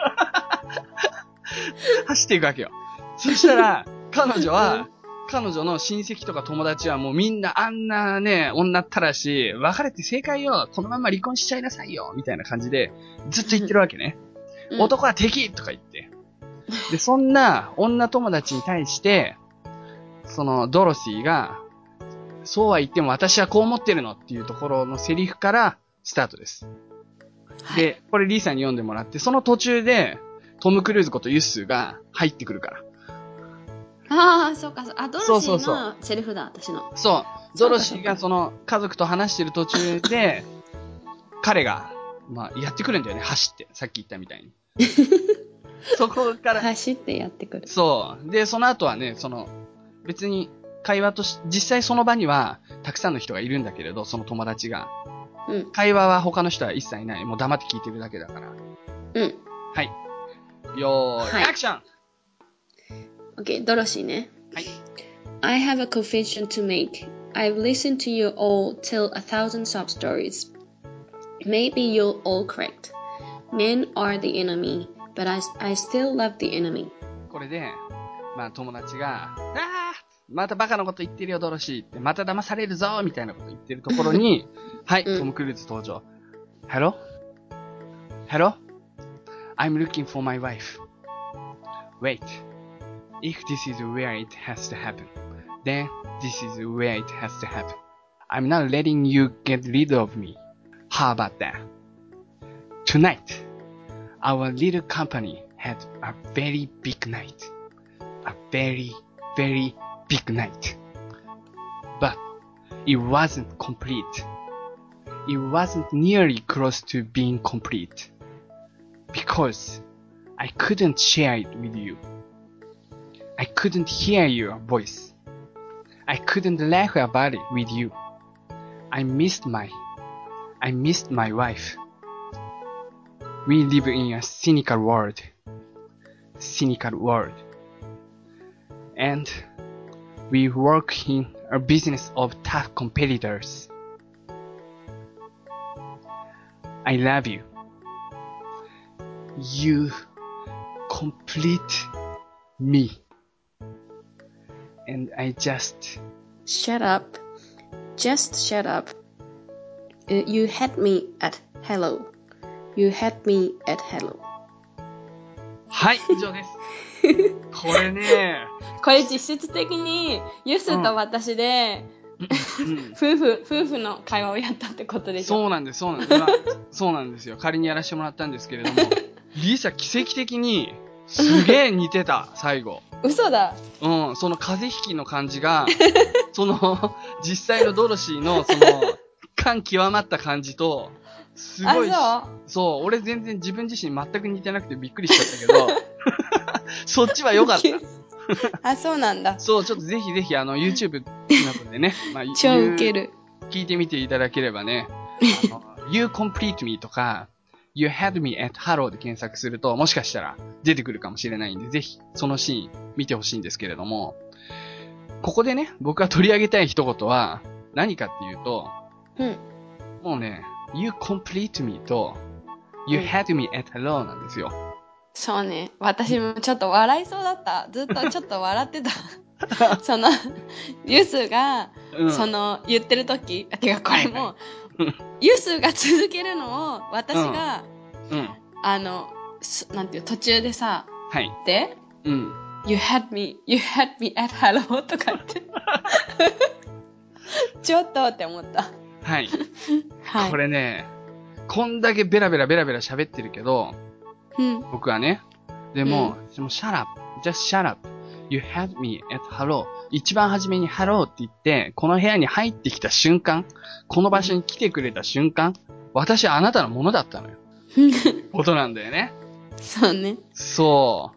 走っていくわけよ。そしたら、彼女の親戚とか友達はもうみんなあんなね、女ったらし、別れて正解よ、このまま離婚しちゃいなさいよ、みたいな感じで、ずっと言ってるわけね。男は敵とか言って。で、そんな女友達に対して、そのドロシーが、そうは言っても私はこう思ってるのっていうところのセリフからスタートです。で、これリーさんに読んでもらって、その途中で、トム・クルーズことユッスーが入ってくるから。 そうか、ドロシーのセリフだ、私の。 そう。ドロシーがその家族と話してる途中で、彼が、やってくるんだよね、走って。さっき言ったみたいに。そこから。 走ってやってくる。 そう。で、その後はね、別に会話と実際その場には、たくさんの人がいるんだけれど、その友達が。会話は他の人は一切ない。もう黙って聞いてるだけだから。はい。よーい、アクション OK、ドロシーね。 はい。 I have a confession to make. I've listened to you all tell 1,000 sob stories. Maybe you're all correct. Men are the enemy, but I still love the enemy. これで、友達が、またバカなこと言ってるよ、ドロシーって。また騙されるぞみたいなこと言ってるところに、はい、トム・クルーズ登場。Hello? I'm looking for my wife. Wait. If this is where it has to happen, then this is where it has to happen. I'm not letting you get rid of me. How about that? Tonight, our little company had a very big night. A very, very big night. But it wasn't complete. It wasn't nearly close to being complete. Because I couldn't share it with you. I couldn't hear your voice. I couldn't laugh about it with you. I missed my wife. We live in a cynical world. And we work in a business of tough competitors. I love you. You complete me. And I just... Shut up. Just shut up. You had me at hello. You had me at hello. はい、以上です。これね。 これ実質的に、ユスと私で、夫婦の会話をやったってことでしょ。 そうなんです、そうなんですよ。仮にやらせてもらったんですけれども、リーサ奇跡的にすげえ似てた、最後。 嘘だ。 うん、その風邪ひきの感じが、実際のドロシーの、感極まった感じと、すごい、そう、俺全然自分自身全く似てなくてびっくりしちゃったけど、そっちは良かった。 そうなんだ。 そう、ちょっとぜひぜひYouTube などでね、 超ウケる。 聞いてみていただければね、You Complete Me とか、You Had Me at Hello で検索すると、もしかしたら出てくるかもしれないんで、ぜひそのシーン見てほしいんですけれども、ここでね、僕が取り上げたい一言は何かっていうと、もうね、You Complete Me と You Had Me at Hello なんですよ。 そうね。私もちょっと笑いそうだった。ずっとちょっと笑ってた。ユスが、言ってる時、てかこれも、ユスが続けるのを、私が、なんていう、途中でさ、で、You had me at hello とかって。ちょっとって思った。 はい。これね、こんだけベラベラ喋ってるけど、僕はね、でも、shut up, just shut up, you had me at hello. 一番初めに hello って言って、この部屋に入ってきた瞬間、この場所に来てくれた瞬間、私はあなたのものだったのよ。ことなんだよね。 そうね。 そう。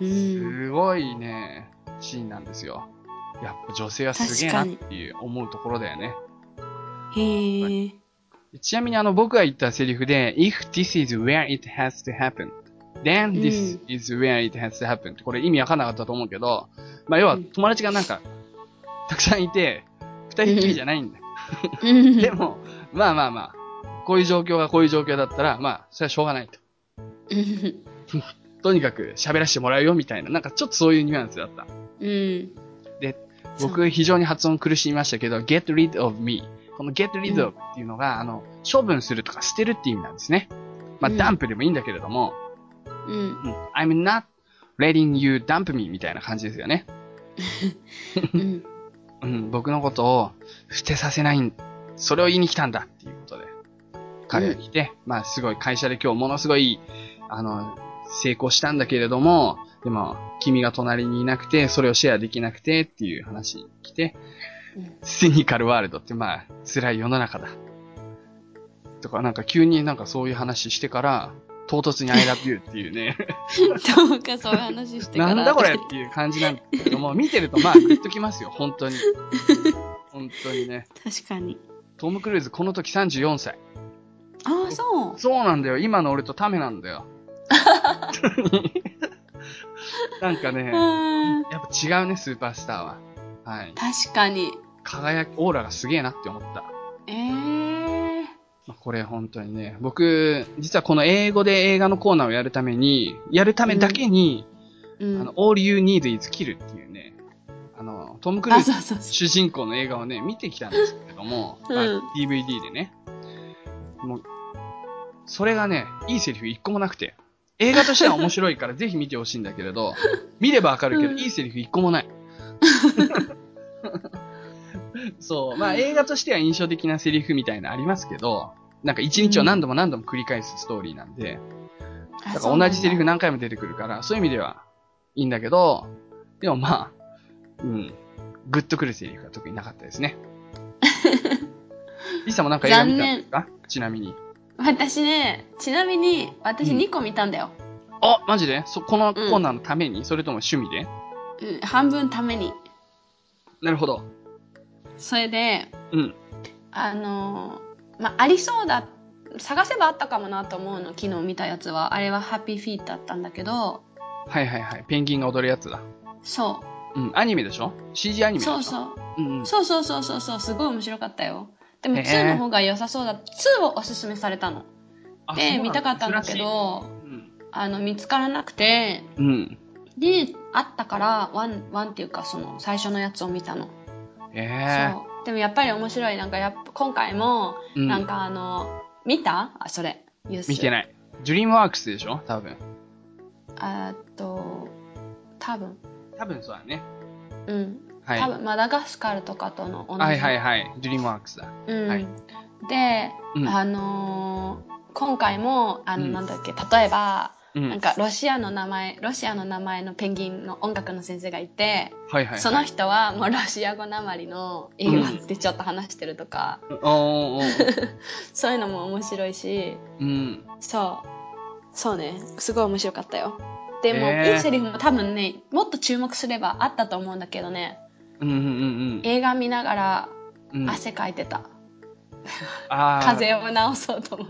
すごいね、シーンなんですよ。やっぱ女性はすげえなっていう思うところだよね。 へー。 ちなみに僕が言ったセリフで、if this is where it has to happen, then this is where it has to happen ってこれ意味わかんなかったと思うけど、要は友達がなんか、たくさんいて、二人っきりじゃないんだよ。でも、こういう状況がこういう状況だったら、それはしょうがないと。とにかく喋らせてもらうよみたいな、なんかちょっとそういうニュアンスだった。で、僕非常に発音苦しみましたけど、get rid of me。この get rid of っていうのが、処分するとか捨てるっていう意味なんですね。ダンプでもいいんだけれども、I'm not letting you dump me みたいな感じですよね。僕のことを捨てさせない、それを言いに来たんだっていうことで、彼が来て、すごい会社で今日ものすごい、成功したんだけれども、でも、君が隣にいなくて、それをシェアできなくてっていう話に来て、シニカルワールドって辛い世の中だ。とかなんか急になんかそういう話してから、唐突に I love you っていうね。 どうかそういう話してから。 なんだこれっていう感じなんだけども、見てるとグッときますよ、本当に。本当にね。 確かに。 トム・クルーズこの時34歳。 ああ、そう。 そうなんだよ。今の俺とタメなんだよ。なんかね、やっぱ違うね、スーパースターは。はい。 確かに。 オーラがすげえなって思った。これ本当にね、僕、実はこの英語で映画のコーナーをやるためだけに、All You Need Is Kill っていうね、トム・クルーズ主人公の映画をね、見てきたんですけども、DVD でね。もう、それがね、いいセリフ一個もなくて、映画としては面白いからぜひ見てほしいんだけれど、見ればわかるけど、いいセリフ一個もない。そう。映画としては印象的なセリフみたいなのありますけど、なんか一日を何度も繰り返すストーリーなんで、だから同じセリフ何回も出てくるから、そういう意味ではいいんだけど、でもグッとくるセリフが特になかったですね。リサもなんか映画見たんですか？ちなみに。 私2個見たんだよ。 あ、マジで？このコーナーのために？それとも趣味で？ 半分ために。 なるほど。 それで、ありそうだ、探せばあったかもなと思うの、昨日見たやつは。あれはハッピーフィートだったんだけど。 はいはいはい。ペンギンが踊るやつだ。 そう。 アニメでしょ？ CG アニメでしょ？ そう。すごい面白かったよ。でも2の方が良さそうだ。2をおすすめされたの。で、見たかったんだけど、見つからなくて、で、あったから、ワンっていうか、最初のやつを見たの。そう。でもやっぱり面白い。なんか今回も、なんか見た？それ。 見てない。ドリームワークスでしょ？多分。 多分そうだね。 はい。多分マダガスカルとかとの同じ。 はい。ドリームワークスだ。はい。 で、今回も、なんだっけ、例えば、 なんかロシアの名前のペンギンの音楽の先生がいて、その人はもうロシア語なまりの英語でちょっと話してるとか、そういうのも面白いし、そうね、すごい面白かったよ。でも、いいセリフも多分ね、もっと注目すればあったと思うんだけどね、映画見ながら汗かいてた。風邪を治そうと思って。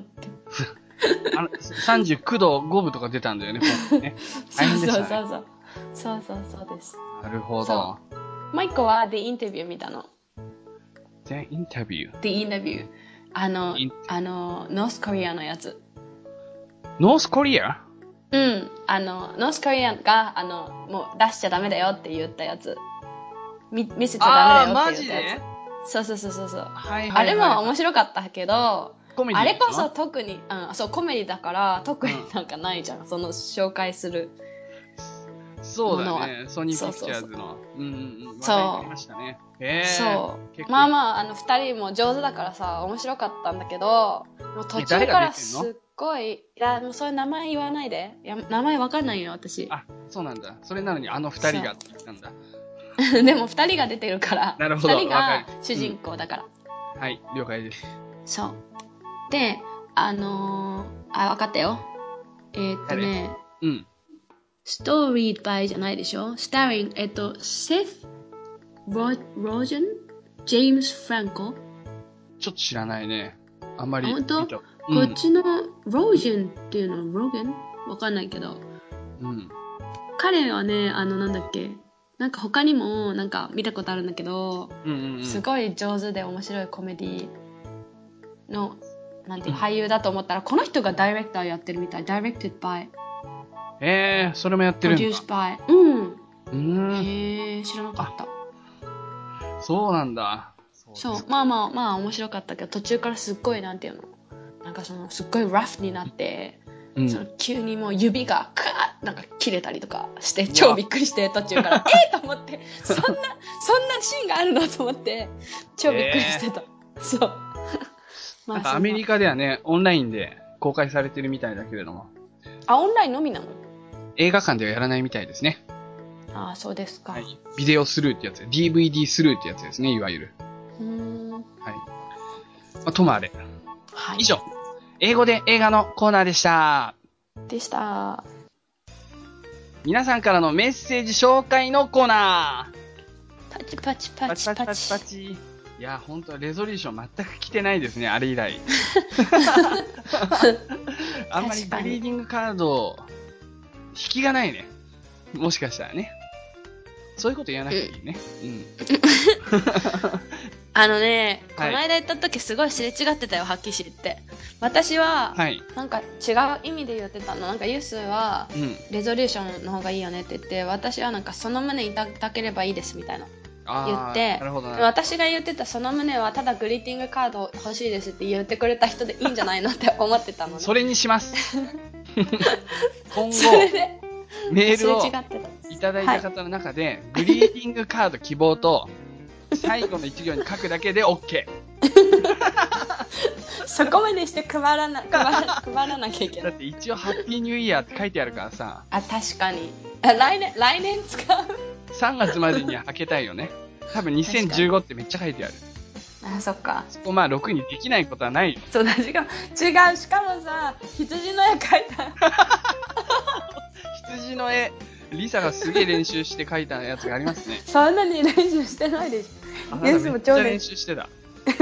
39度5分とか出たんだよね、ね。大変でしたね。 そうです。 なるほど。 もう一個は The Interview 見たの。 The Interview？ The Interview。ノースコリアのやつ。 ノースコリア？ ノースコリアが、もう出しちゃダメだよって言ったやつ。見せちゃダメだよって言ったやつ。そう。あれも面白かったけど、あれこそ特に、コメディだから特になんかないじゃん、その紹介するそうだね、ソニーピクチャーズの。 そう。 ましたね。 そう。まあ二人も上手だからさ、面白かったんだけど、もう途中からすっごい、もうそういう名前言わないで。名前わかんないよ、私。 そうなんだ。それなのに二人がって言ったんだ。 でも二人が出てるから、 なるほど。 二人が主人公だから。 はい、了解です。 そう。で、わかったよ。Storied by じゃないでしょ ?Starring, Seth Rogen? James Franco? ちょっと知らないね。あんまり。 本当？こっちの Rogen っていうの Rogen? わかんないけど。彼はね、なんだっけなんか他にもなんか見たことあるんだけど、すごい上手で面白いコメディのなんていう俳優だと思ったら、この人がダイレクターやってるみたい。Directed by。 それもやってるんだ。 Produced by。知らなかった。 そうなんだ。 そう。まあ面白かったけど、途中からすっごいなんていうの、なんかすっごいラフになって、その急にもう指がなんか切れたりとかして超びっくりして途中からと思ってそんなシーンがあるのと思って超びっくりしてた。そう。 なんかアメリカではね、オンラインで公開されてるみたいだけれども。 オンラインのみなの？映画館ではやらないみたいですね。 そうですか。 ビデオスルーってやつ。DVD スルーってやつですね、いわゆる。ともあれ。以上。英語で映画のコーナーでした。皆さんからのメッセージ紹介のコーナー。パチパチパチパチ。 パチ。いや、ほんと、レゾリューション全く来てないですね、あれ以来。あんまりグリーディングカード、引きがないね。もしかしたらね。そういうこと言わなくていいね。 この間言った時すごいすれ違ってたよ、はっきり言って。私は、なんか違う意味で言ってたの。なんかユースは、レゾリューションの方がいいよねって言って、私はなんかその旨いただければいいですみたいな。言って、私が言ってたその旨はただグリーティングカード欲しいですって言ってくれた人でいいんじゃないのって思ってたのね。 それにします。今後、メールをいただいた方の中で、グリーティングカード希望と、最後の一行に書くだけで OK。 そこまでして配らなきゃいけない。 だって一応ハッピーニューイヤーって書いてあるからさ。 確かに。来年使う ?3 月までには開けたいよね。多分2015ってめっちゃ書いてある。 そっか。 そこ6にできないことはないよ。 そうだ、違う。しかもさ、羊の絵描いた。 羊の絵、リサがすげえ練習して描いたやつがありますね。 そんなに練習してないでしょ。 めっちゃ練習してた。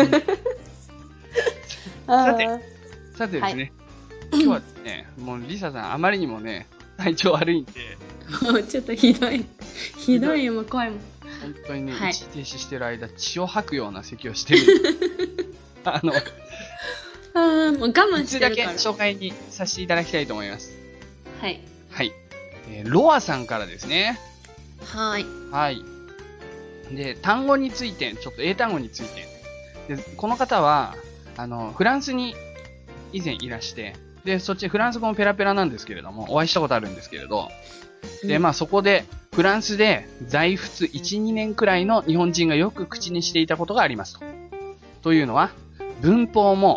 さてですね、今日はですね、もうリサさんあまりにもね、体調悪いんで。 もうちょっとひどいよ、もう声も。 本当にね、一時停止してる間、血を吐くような咳をしてる。 もう我慢してるから。 だけ紹介にさせていただきたいと思います。 はい。 ロアさんからですね。 はい。 で、単語について、ちょっと英単語について。で、この方は、フランスに以前いらして、で、そっちフランス語もペラペラなんですけれども、お会いしたことあるんですけれど、で、そこで、フランスで在仏1、2年くらいの日本人がよく口にしていたことがありますと。というのは、文法も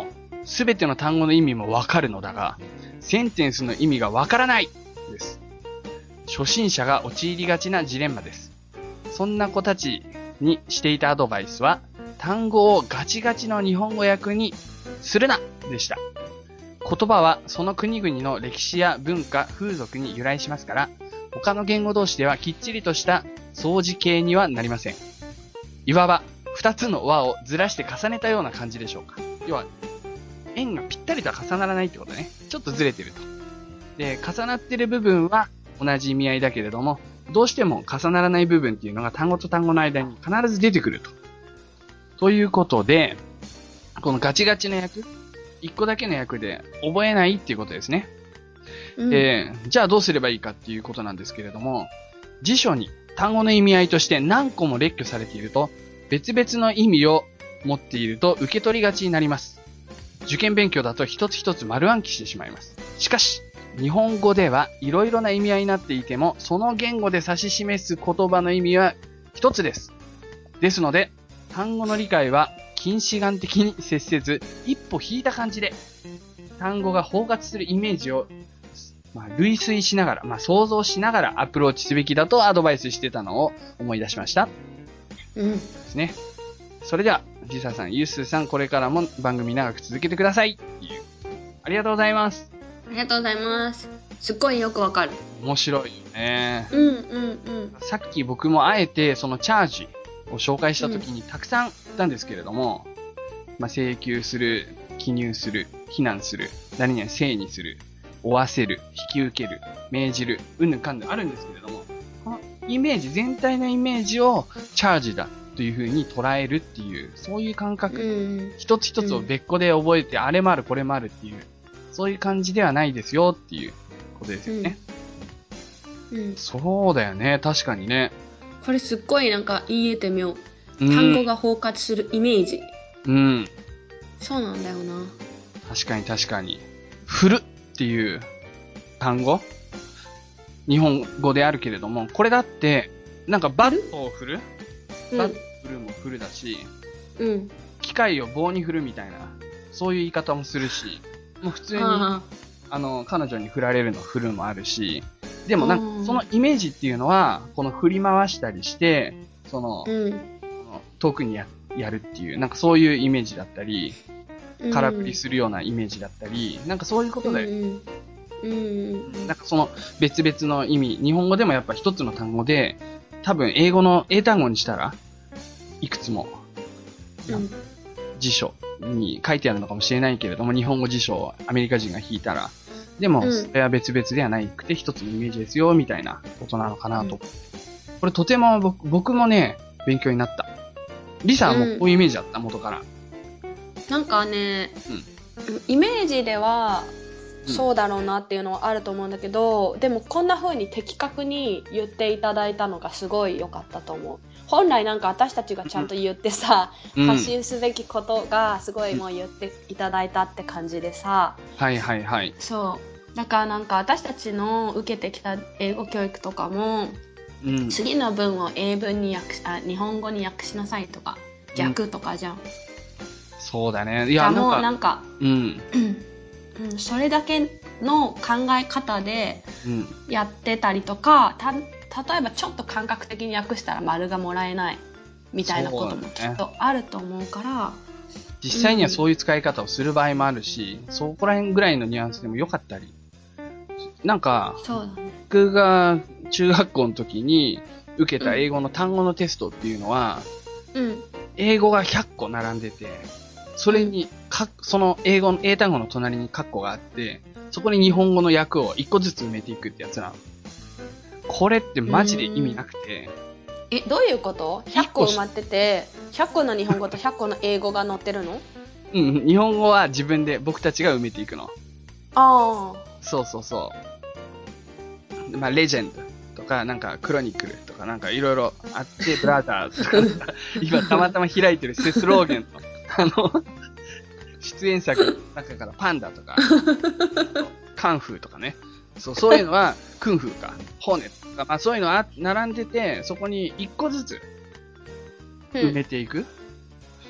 すべての単語の意味もわかるのだが、センテンスの意味がわからないです。初心者が陥りがちなジレンマです。そんな子たちにしていたアドバイスは、単語をガチガチの日本語訳にするなでした。言葉はその国々の歴史や文化、風俗に由来しますから、他の言語同士ではきっちりとした相似形にはなりません。いわば、二つの輪をずらして重ねたような感じでしょうか。要は、円がぴったりとは重ならないってことね。ちょっとずれてると。で、重なってる部分は同じ意味合いだけれども、どうしても重ならない部分っていうのが単語と単語の間に必ず出てくると。ということで、このガチガチの訳、一個だけの訳で覚えないっていうことですね。じゃあどうすればいいかっていうことなんですけれども、辞書に単語の意味合いとして何個も列挙されていると、別々の意味を持っていると受け取りがちになります。受験勉強だと一つ一つ丸暗記してしまいます。しかし、日本語ではいろいろな意味合いになっていても、その言語で指し示す言葉の意味は一つです。ですので、単語の理解は近視眼的に接せず、一歩引いた感じで、単語が包括するイメージを、類推しながら、想像しながらアプローチすべきだとアドバイスしてたのを思い出しました。ですね。それでは、ジサさん、ユースさん、これからも番組長く続けてください。ありがとうございます。 ありがとうございます。すっごいよくわかる。 面白いよね。さっき僕もあえてそのチャージを紹介した時にたくさん言ったんですけれども、請求する、記入する、非難する、何々正にする、負わせる、引き受ける、命じる、うんぬんかんぬんあるんですけれども、このイメージ、全体のイメージをチャージだという風に捉えるっていう、そういう感覚、一つ一つを別個で覚えて、あれもあるこれもあるっていう、そういう感じではないですよっていうことですよね。そうだよね、確かにね。 これすっごいなんか言えてみよう。単語が包括するイメージ。そうなんだよな。 確かに確かに。振るっていう単語、日本語であるけれども、これだって、なんかバットを振る、バット振るも振るだし、機械を棒に振るみたいな、そういう言い方もするし、もう普通に、彼女に振られるの振るもあるし、でもなんかそのイメージっていうのは、この振り回したりして、遠くにやるっていう、なんかそういうイメージだったり、空振りするようなイメージだったり、なんかそういうことで、なんかその別々の意味、日本語でもやっぱ一つの単語で、多分英語の英単語にしたら、いくつも、辞書に書いてあるのかもしれないけれども、日本語辞書をアメリカ人が引いたら、でも、それは別々ではなくて一つのイメージですよ、みたいなことなのかなと。これとても僕もね、勉強になった。リサはもうこういうイメージだった、元から。 なんかね、イメージでは、そうだろうなっていうのはあると思うんだけど、でもこんな風に的確に言っていただいたのがすごい良かったと思う。本来なんか私たちがちゃんと言ってさ、発信すべきことがすごいもう言っていただいたって感じでさ。そう。だからなんか私たちの受けてきた英語教育とかも、次の文を英文に日本語に訳しなさいとか、逆とかじゃん。 そうだね。いや、 なんか、それだけの考え方でやってたりとか、例えばちょっと感覚的に訳したら丸がもらえないみたいなこともきっとあると思うから、 実際にはそういう使い方をする場合もあるし、そこら辺ぐらいのニュアンスでもよかったり。なんか、僕が中学校の時に受けた英語の単語のテストっていうのは、英語が100個並んでて、それに、その英単語の隣にカッコがあって、そこに日本語の訳を1個ずつ埋めていくってやつなの。これってマジで意味なくて。 どういうこと ?100 個埋まってて、100個の日本語と100個の英語が載ってるの？ 日本語は自分で僕たちが埋めていくの。そうそうそう。レジェンドとか、なんかクロニクルとかなんかいろいろあって、ブラザーズとか、今たまたま開いてるセスローゲンの、出演作の中からパンダとか、カンフーとかね。そういうのは、クンフーか、ホーネとか、そういうのは並んでて、そこに一個ずつ埋めていく。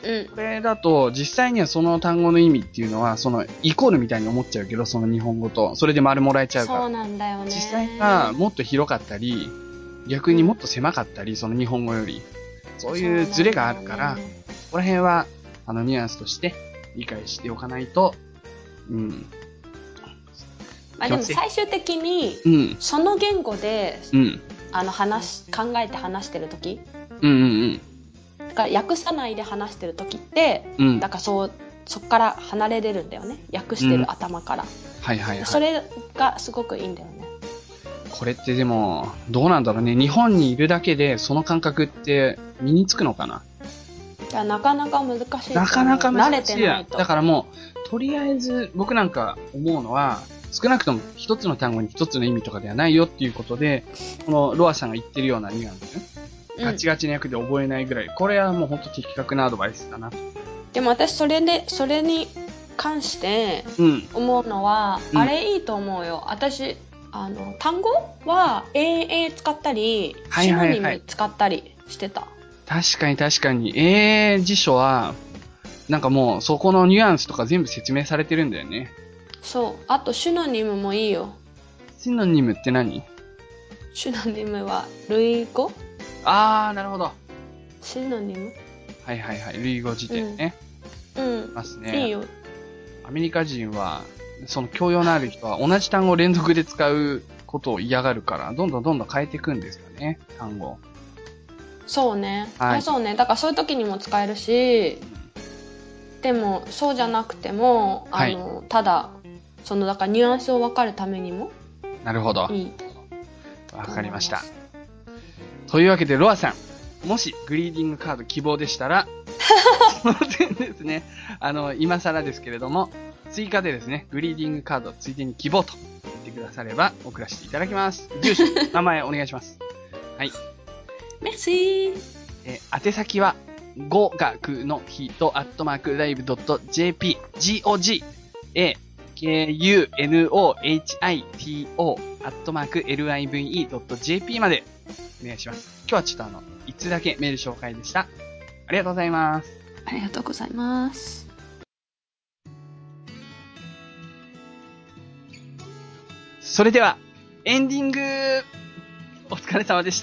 これだと、実際にはその単語の意味っていうのは、その、イコールみたいに思っちゃうけど、その日本語と、それで丸もらえちゃうから。 そうなんだよね。 実際がもっと広かったり、逆にもっと狭かったり、その日本語より。そういうズレがあるから、ここら辺は、ニュアンスとして理解しておかないと、うん。 まあでも最終的に、その言語で、考えて話してるとき、だから訳さないで話してるときって、だからそっから離れれるんだよね。訳してる頭から。 はいはいはい。 それがすごくいいんだよね。 これってでも、どうなんだろうね。日本にいるだけで、その感覚って身につくのかな？ いや、なかなか難しい。 なかなか難しい。 慣れてないと。 だからもう、とりあえず、僕なんか思うのは、少なくとも一つの単語に一つの意味とかではないよっていうことで、このロアさんが言ってるようなニュアンス、ガチガチの役で覚えないぐらい、これはもう本当的確なアドバイスだな。 でも私それに関して思うのは、あれいいと思うよ。私、単語は AA 使ったり、シノニム使ったりしてた。 確かに確かに。AA 辞書は、なんかもうそこのニュアンスとか全部説明されてるんだよね。 そう。あとシノニムもいいよ。 シノニムって何？ シノニムは類語？ あー、なるほど。 シノニム？ はいはいはい。類語辞典ね。ますね。 いいよ。 アメリカ人は、その教養のある人は同じ単語を連続で使うことを嫌がるから、どんどん変えていくんですよね、単語。 そうね。はい。そうね。だからそういう時にも使えるし、でもそうじゃなくても、ただ、だからニュアンスを分かるためにも。 なるほど。 いい。 わかりました。というわけで、ロアさん、もしグリーディングカード希望でしたら、その点ですね、今更ですけれども、追加でですね、グリーディングカードついでに希望と言ってくだされば送らせていただきます。住所、名前お願いします。はい。 メッシー。 宛先は、語学の人@live.jp gogakunohito@live.jp までお願いします。今日はちょっといつだけメール紹介でした。ありがとうございます。 ありがとうございます。 それでは、エンディングお疲れ様でした。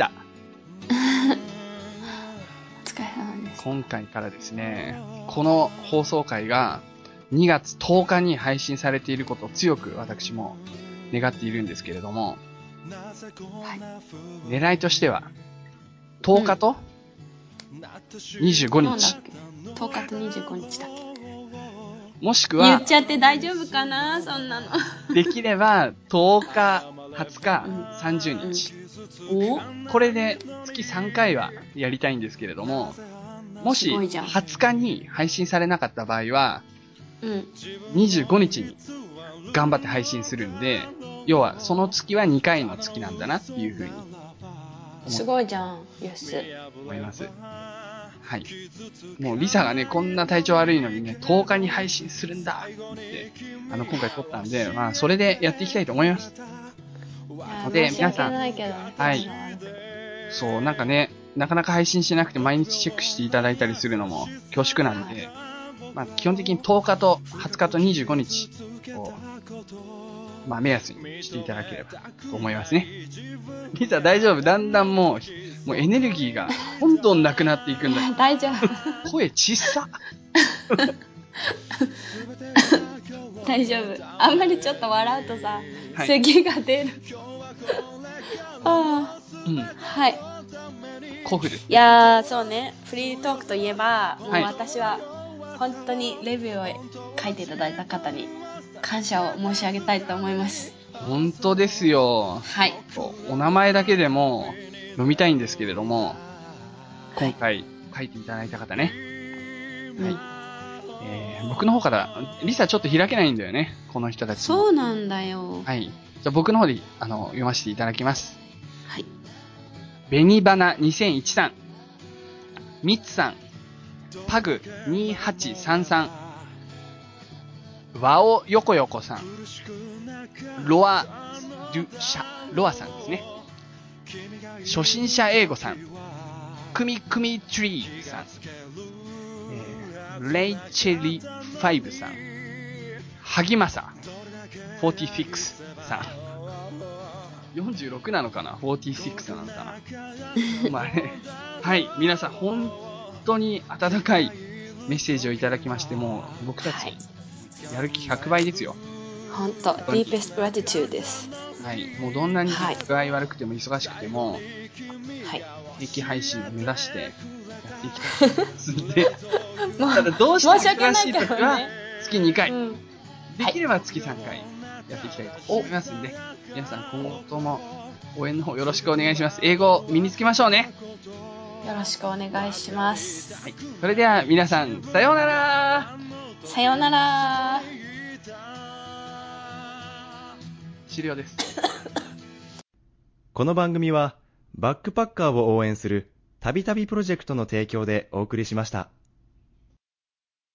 今回からですね、この放送回が2月10日に配信されていることを強く私も願っているんですけれども、はい、狙いとしては、10日と25日。 10日と25日だっけ？ もしくは、 言っちゃって大丈夫かな、そんなの。 できれば、10日、20日、30日。これで月3回はやりたいんですけれども、もし20日に配信されなかった場合は、25日に頑張って配信するんで、要はその月は2回の月なんだなっていう風に。 すごいじゃん、よし。 思います。はい。もうリサがね、こんな体調悪いのにね、10日に配信するんだって言って、今回撮ったんで、まあそれでやっていきたいと思います。 で、皆さん、はい。 そう、なんかね、なかなか配信しなくて毎日チェックしていただいたりするのも恐縮なんで、まあ基本的に10日と20日と25日を、まあ目安にしていただければと思いますね。リサ大丈夫？だんだんもうエネルギーがどんどんなくなっていくんだけど。 大丈夫。 声ちっさ。 大丈夫。あんまりちょっと笑うとさ、咳が出る。はい。 コフル。 いやー、そうね。フリートークといえば、もう私は本当にレビューを書いていただいた方に感謝を申し上げたいと思います。 本当ですよ。 はい。 お名前だけでも読みたいんですけれども、今回書いていただいた方ね。はい。僕の方から、リサちょっと開けないんだよね。この人たち。 そうなんだよ。 はい。じゃあ僕の方で読ませていただきます。 はい。 紅花2001さん、ミッツさん、パグ2833、ワオヨコヨコさん、ロアさんですね。初心者英語さん、クミクミトリーさん、 レイチェリ5さん、萩正46さん、46なのかな ?46 なのかなまあね、はい、皆さん本当に温かいメッセージをいただきまして、もう僕たち、やる気100倍ですよ。 本当、deepest gratitude です。 はい、もうどんなに具合悪くても忙しくても、 はい、 定期配信を目指してやっていきたいと思いますので、ただどうしても忙しい時は月2回、できれば月3回やっていきたいと思いますので、皆さん今後とも応援の方よろしくお願いします。英語身につけましょうね。 よろしくお願いします。 はい、それでは皆さん、さようなら。 さようなら。 終了です。 この番組はバックパッカーを応援するたびたびプロジェクトの提供でお送りしました。